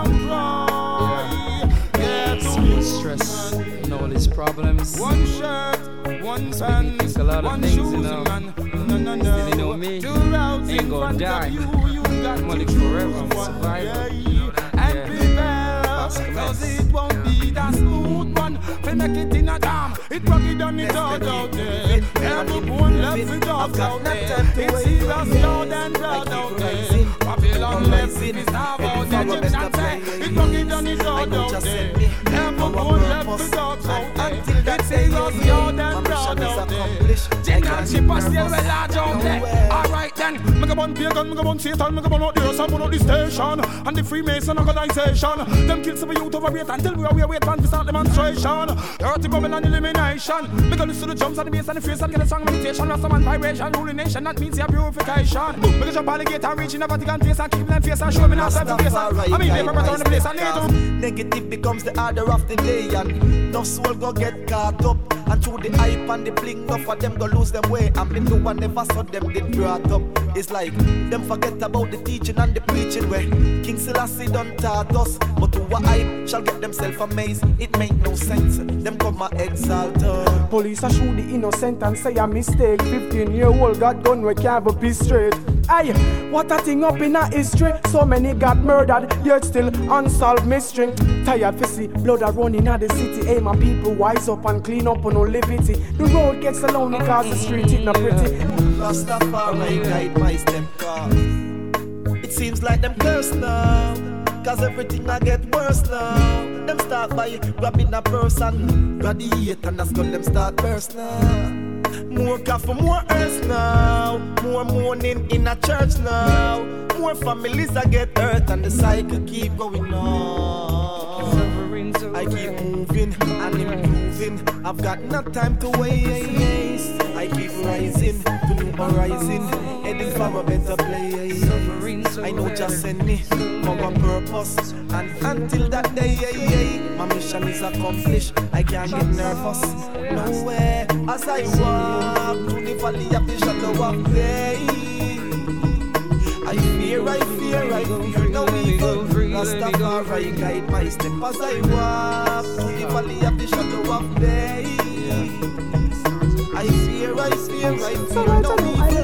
cry. Yeah, serious stress and all these problems. One shirt, one pants, one shoes, man. No. You know me, ain't gonna die. I'm gonna live forever, I'm surviving. And prepare, cause it won't be that smooth one. They make it in a dam, it rocky down it all out there. Every bone left with dogs out there. It's serious loud and proud out there. Babylon left with his half out there. Egyptian say, it rocky down it all out there. Every bone left with dogs out there. It's serious loud and proud out there. Jingle ship are still well large out there. Alright then, make a bun pagan, make a bun Satan, make a bun out there, some bun out the station. And the Freemason organization, them kill some youth over here until we are wait for start demonstration. Dirty Babylon elimination. Make a listen to the drums and the bass and the face and get a song meditation. Rasta man vibration, ruling nation, that means your purification. Make a jump alligator, reach in the Vatican place and keep them face and show me now self-face. I mean, they return the place and they do. Negative becomes the order of the day, and no soul go get caught up. And through the hype and the bling, no for them go lose them way. And me no one never saw them did brought up. It's like them forget about the teaching and the preaching where King Selassie done taught us. But who a hype shall get themselves amazed. It make no sense. Them come and exalt us. Police are shoot the innocent and say a mistake. 15-year-old got gun we can't be straight. Aye, what a thing up in a history. So many got murdered, yet still unsolved mystery. Tired to see blood a running at the city. Hey, my people wise up and clean up on no liberty. The road gets alone because the street is not pretty. Rastafari guide my step cause it seems like them curse now. Cause everything I get worse now. Them start by grabbing a person, gladiate and that's gun them start burst now. More coffee, more earth now. More mourning in a church now. More families I get hurt and the cycle keep going on. I keep moving and improving. I've got no time to waste. I keep rising to new horizon, heading for a better place. I know just send me for a purpose, and until that day, my mission is accomplished. I can't get nervous, no way. As I walk through the valley of the shadow of death, I fear no evil. Rastafari guide my step as I walk through the valley of the shadow of death. I fear no evil.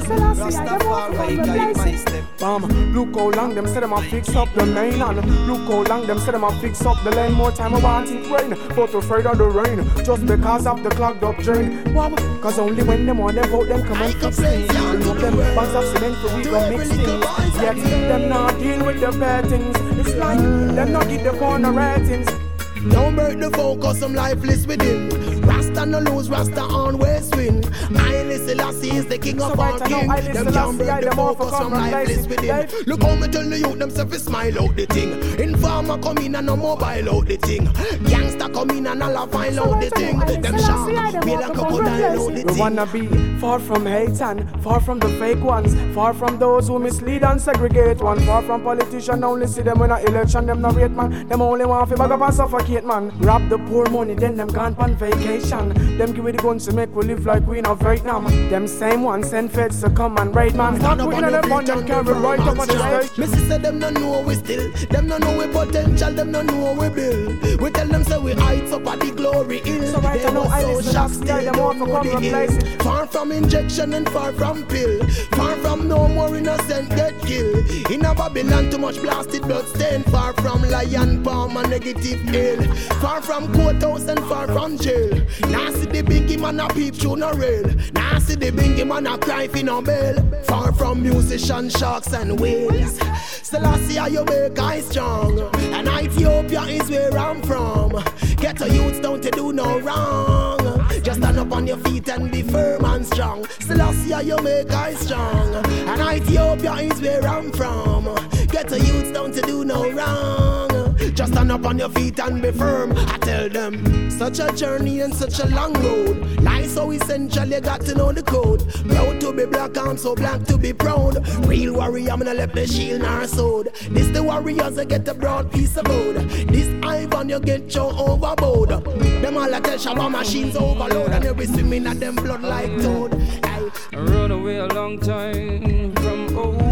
Rastafari guide my step. Look how long them say them a fix up the main, and look how long them say them a fix up the lane. More time I want it rain, but afraid of the rain, just because of the clogged up drain. Wow, cause only when them on them vote them come and fix things. Bring up them bags of cement for we go mix things. Yet them not deal with the bad things. It's like them not get the corner ratings. Don't break the focus, I'm lifeless within. Rasta no lose, Rasta always win. Haile Selassie is the king of all kings. Them can't break the focus, I'm lifeless within. Look how me tell the youth, them self smile out the thing. Informer come in and no mobile out the thing. Gangster come in and all file out the thing. Them sharp, me like a crocodile out the thing. We wanna be far from hate and far from the fake ones, far from those who mislead and segregate one, far from politicians. Only see them in an election, them no rate man. Them only want to bag up and suffocate man. Rob the poor money, then them gone on vacation. Them give me the guns to make we live like we in Vietnam. Them same ones send feds to come and raid man. Stop putting on them on them carry right up on the stage. Missy said them no know we still. Them no know we potential, them no know we build. We tell them say we heights up at the glory hill. So right I know I listen to still them want to come replace. Far from injection and far from pill. Far from no more innocent get killed. In a Babylon too much blasted blood stain. Far from lion palm and negative ill. Far from courthouse and far from jail. Now see the bingy man a peep through no rail. Now see the bingy man a cry for no bail. Far from musicians, sharks and whales. Selassie you make I strong. And Ethiopia is where I'm from. Get a youths down to do no wrong. Just stand up on your feet and be firm and strong. Selassie you make I strong. And Ethiopia is where I'm from. Get a youths down to do no wrong. Just stand up on your feet and be firm. I tell them, such a journey and such a long road. Life so essential, you got to know the code. Proud to be black, I'm so black to be proud. Real warrior, I'm gonna let the shield nor sword. This the warriors that get a broad piece of wood. This Ivan you get your overboard. Them all a tell Shabba machines overload. And you be swimming at them blood like toad. I run away a long time from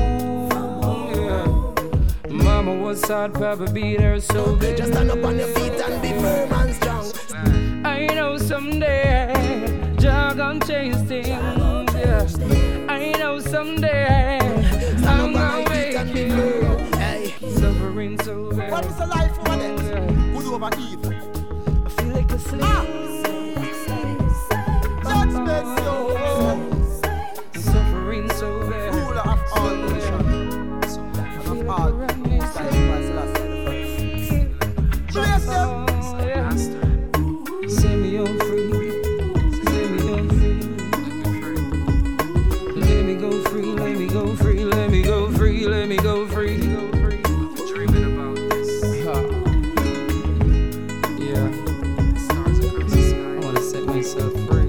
Mama was sad, Papa beat her so good. Just stand up on your feet and be firm and strong. I know someday Jah gon' change things. Yeah. I know someday I'm gonna make it. Suffering so bad. What is the life for them? Good over evil. I feel like a slave. Judgment so. Suffering so bad. Ruler of all nations. Of all. Set me on free. Set me on free. Let me go free. Let me go free. Let me go free. Let me go free. Dreaming about this. Yeah. I wanna set myself free.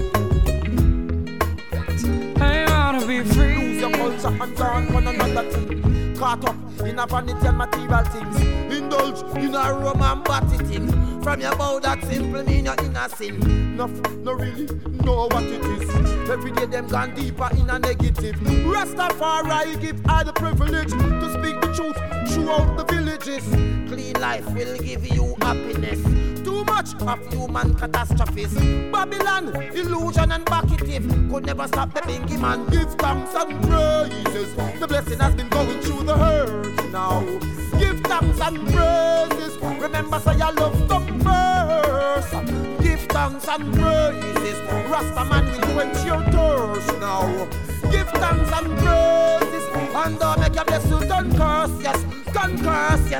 I wanna be free. Lose your culture and turn one another thing. Caught up in a vanity and material things. Indulge in a Roman body thing. From your mouth that simple mean you're innocent. No really know what it is. Every day them gone deeper in a negative. Rastafari give all the privilege to speak the truth throughout the villages. Clean life will give you happiness. Too much of human catastrophes. Babylon, illusion and backative could never stop the bingy man. Give thanks and praises. The blessing has been going through the hurt now. Give thanks and praises. Remember say your love come first. Give thanks and praises. Rasta man will quench your thirst now. Give thanks and praises. And don't make your blessing don't curse, yes. Don't curse, yes. Yo!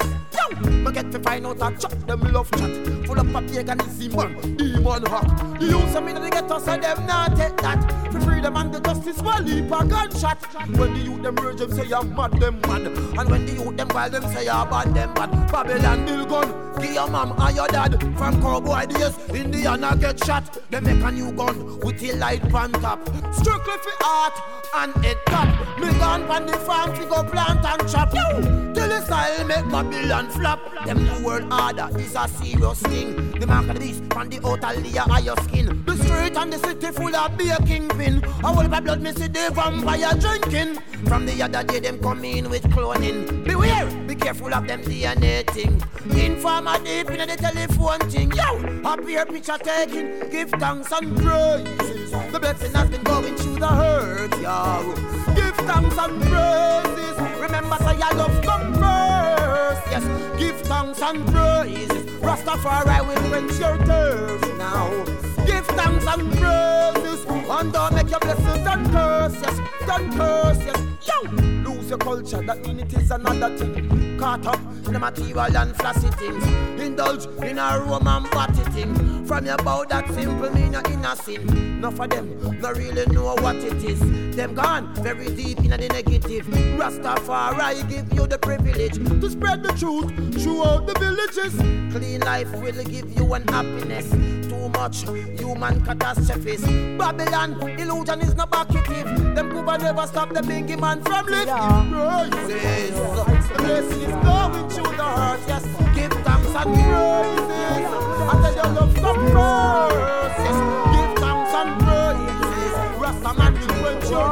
Yo, me get to find out a chat, them love chat. Full up of paganism, man, demon hack. The youths of me they get us and them not take that. For freedom and the justice, while leap a gunshot. When the youth them rage, them say I'm mad, them mad. And when the youth them wild, them say I'm bad, them bad. Babylon bill gun, give your mom and your dad. From cowboy days, Indiana get shot. They make a new gun with a light pan top. Strictly for art and head top. Me gone pan the farm, fi go plant and chop. Yo, till the style make Babylon flop. Them new world order is a serious thing. The mark of the beast, pan the outer layer of your skin. The street and the city full of beer kingpin. A whole of blood me see the vampire drinking. From the other day them come in with cloning. Beware, be careful of them DNA thing. Informer deep in the telephone thing. Yo, up here picture taking. Give thanks and praises. The blessing has been going through the hurt, yo. Give thanks and praises. Remember say your love come first. Yes, give thanks and praises. Rastafari will quench your thirst now. Give thanks and praises. And don't make your blessings don't curse, yes. Don't curse, yes. Yo, lose your culture, that mean it is another thing. Caught up in the material and flashy things. Indulge in a Roman party thing. From your bow that simple mean you're innocent. Enough of them not really know what it is. Them gone very deep in the negative. Rastafari give you the privilege to spread the truth throughout the villages. Clean life will give you an happiness. Too much human catastrophes. Babylon illusion is not backitative. Them Cuba never stop the bingy man from lifting praises. The blessing is going through the heart. Yes, give thanks and praises. I tell your love come first. Yes, give thanks and praises. Rastaman will quench your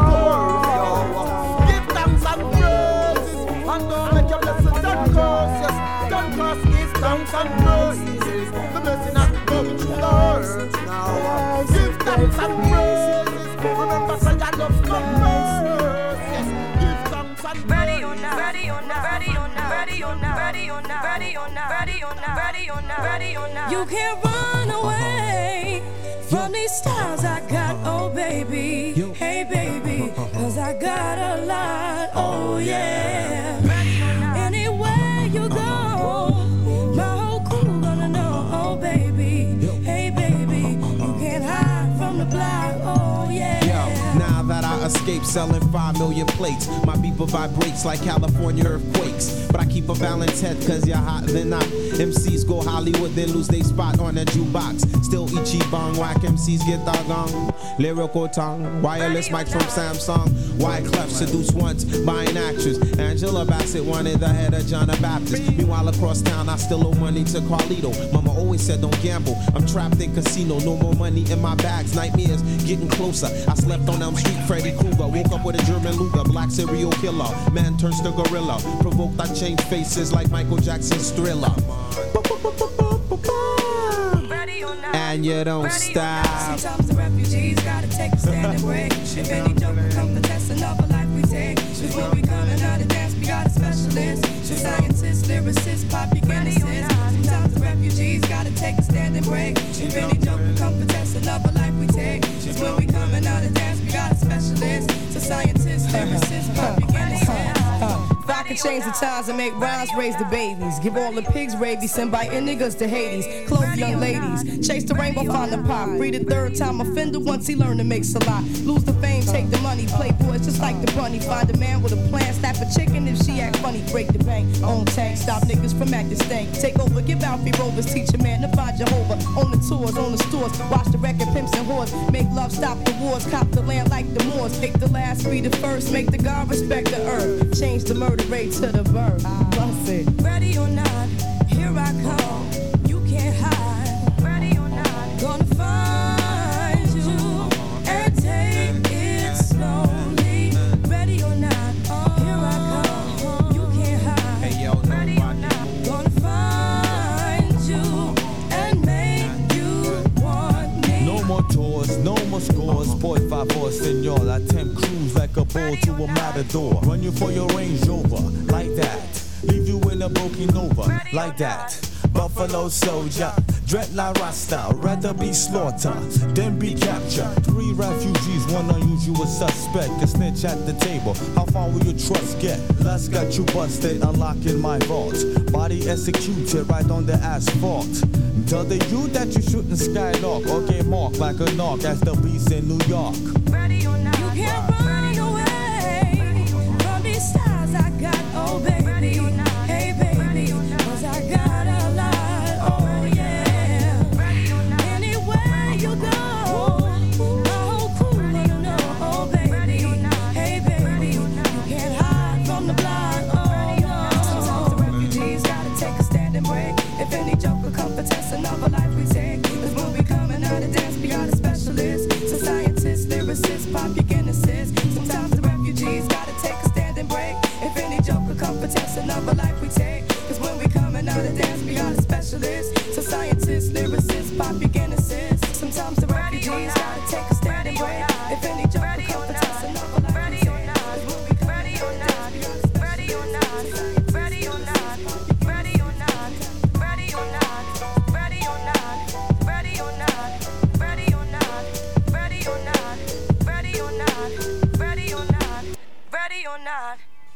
thirst. Give thanks and praises. And don't make your blessings don't curse. Yes, don't curse. Give thanks and praises. The blessing has been going through the heart now. Give thanks and praises. Remember, say your love come first. Yes, give thanks and praises. Ready or not, ready or not, ready or not, ready or not, ready or not, ready or not, ready or not, ready or not, ready or not. You can't run away from these stars I got, oh baby. Hey baby, cause I got a lot, oh yeah. Anywhere you go, my whole crew gonna know, oh baby. Hey baby, you can't hide from the block, oh yeah. Now that I escaped selling 5 million plates, my beeper vibrates like California earthquakes. But I keep a balanced head cause you're hot than not. MCs go Hollywood then lose their spot on that jukebox. Still Ichiban, whack MCs get doggone. Lyrical tongue, wireless mics from Samsung. Wyclef seduced once by an actress. Angela Bassett wanted the head of John the Baptist. Meanwhile across town I still owe money to Carlito. Mama always said don't gamble, I'm trapped in casino. No more money in my bags, nightmares getting closer. I slept on Elm Street, Freddy Krueger. Woke up with a German Luger, black serial killer. Man turns to gorilla. Provoked I change faces like Michael Jackson's Thriller. And you don't stop. Sometimes the refugees gotta take a stand and break. If any joke will come to test another life we take. Before we coming out of dance, we got a specialist. Scientists, lyricists, pop eugenicists. Sometimes the refugees gotta take a stand and break. If any joke will come to test another life we take. Before we coming out of dance, we got a specialist. So scientists, lyricists, pop eugenicists. If I could change the times and make rhymes, raise the babies. Give all the pigs rabies, send biting niggas to Hades. Clothe young ladies, chase the rainbow, find the pop. Free the third time offender once he learned to make a lot. Lose the fame, take the money, play boys just like the bunny. Find a man with a plan, slap a chicken if she act funny. Break the bank, own tank, stop niggas from acting stank. Take over, give out free rovers, teach a man to find Jehovah. On the tours, on the stores, watch the record, pimps and whores. Make love, stop the wars, cop the land like the Moors. Take the last, be the first, make the God respect the earth. Change the murder rate to the verb. Bust it. Ready or not, here I come. You can't hide. Ready or not, gonna find you and take it slowly. Ready or not, here I come. You can't hide. Hey, yo, ready or not, gonna find you and make you want me. No more tours, no more scores. Boy, 5-4, senor. I tempt cruise like a bull to a matador. Run you for your Range Rover, like that. Leave you in a broken over, like that. Buffalo Soldier, Dreadlock Rasta, rather be slaughtered than be captured. 3 refugees, 1 unusual suspect. A snitch at the table. How far will your trust get? Lust got you busted, unlocking my vault. Body executed right on the asphalt. Tell the you that you shouldn't skylark or get marked like a knock as the beast in New York. Ready or not, you can't run away from these stars I got, oh baby. Hey baby, 'cause I got a lot, oh yeah. Anywhere you go, my whole crew wanna know, oh baby. Hey baby, you can't hide from the block, oh no. Sometimes the refugees gotta take a stand and break. If any joker come for test another life we take. 'Cause when we coming out of dance, we are the specialists. So scientists, lyricists, pop your Guinnesses. Sometimes the refugees gotta take a stand and break. If any joker come for test another life we take. 'Cause when we coming out of dance, we are the specialists. So scientists, lyricists, pop your Guinnesses. Sometimes the refugees gotta take a stand and break. If any joker come for test another life we take. Ready or not, ready or not, ready or not, ready or not, ready or not, ready or not, ready or not, ready or not, ready or not, ready or not, ready or not, ready or not.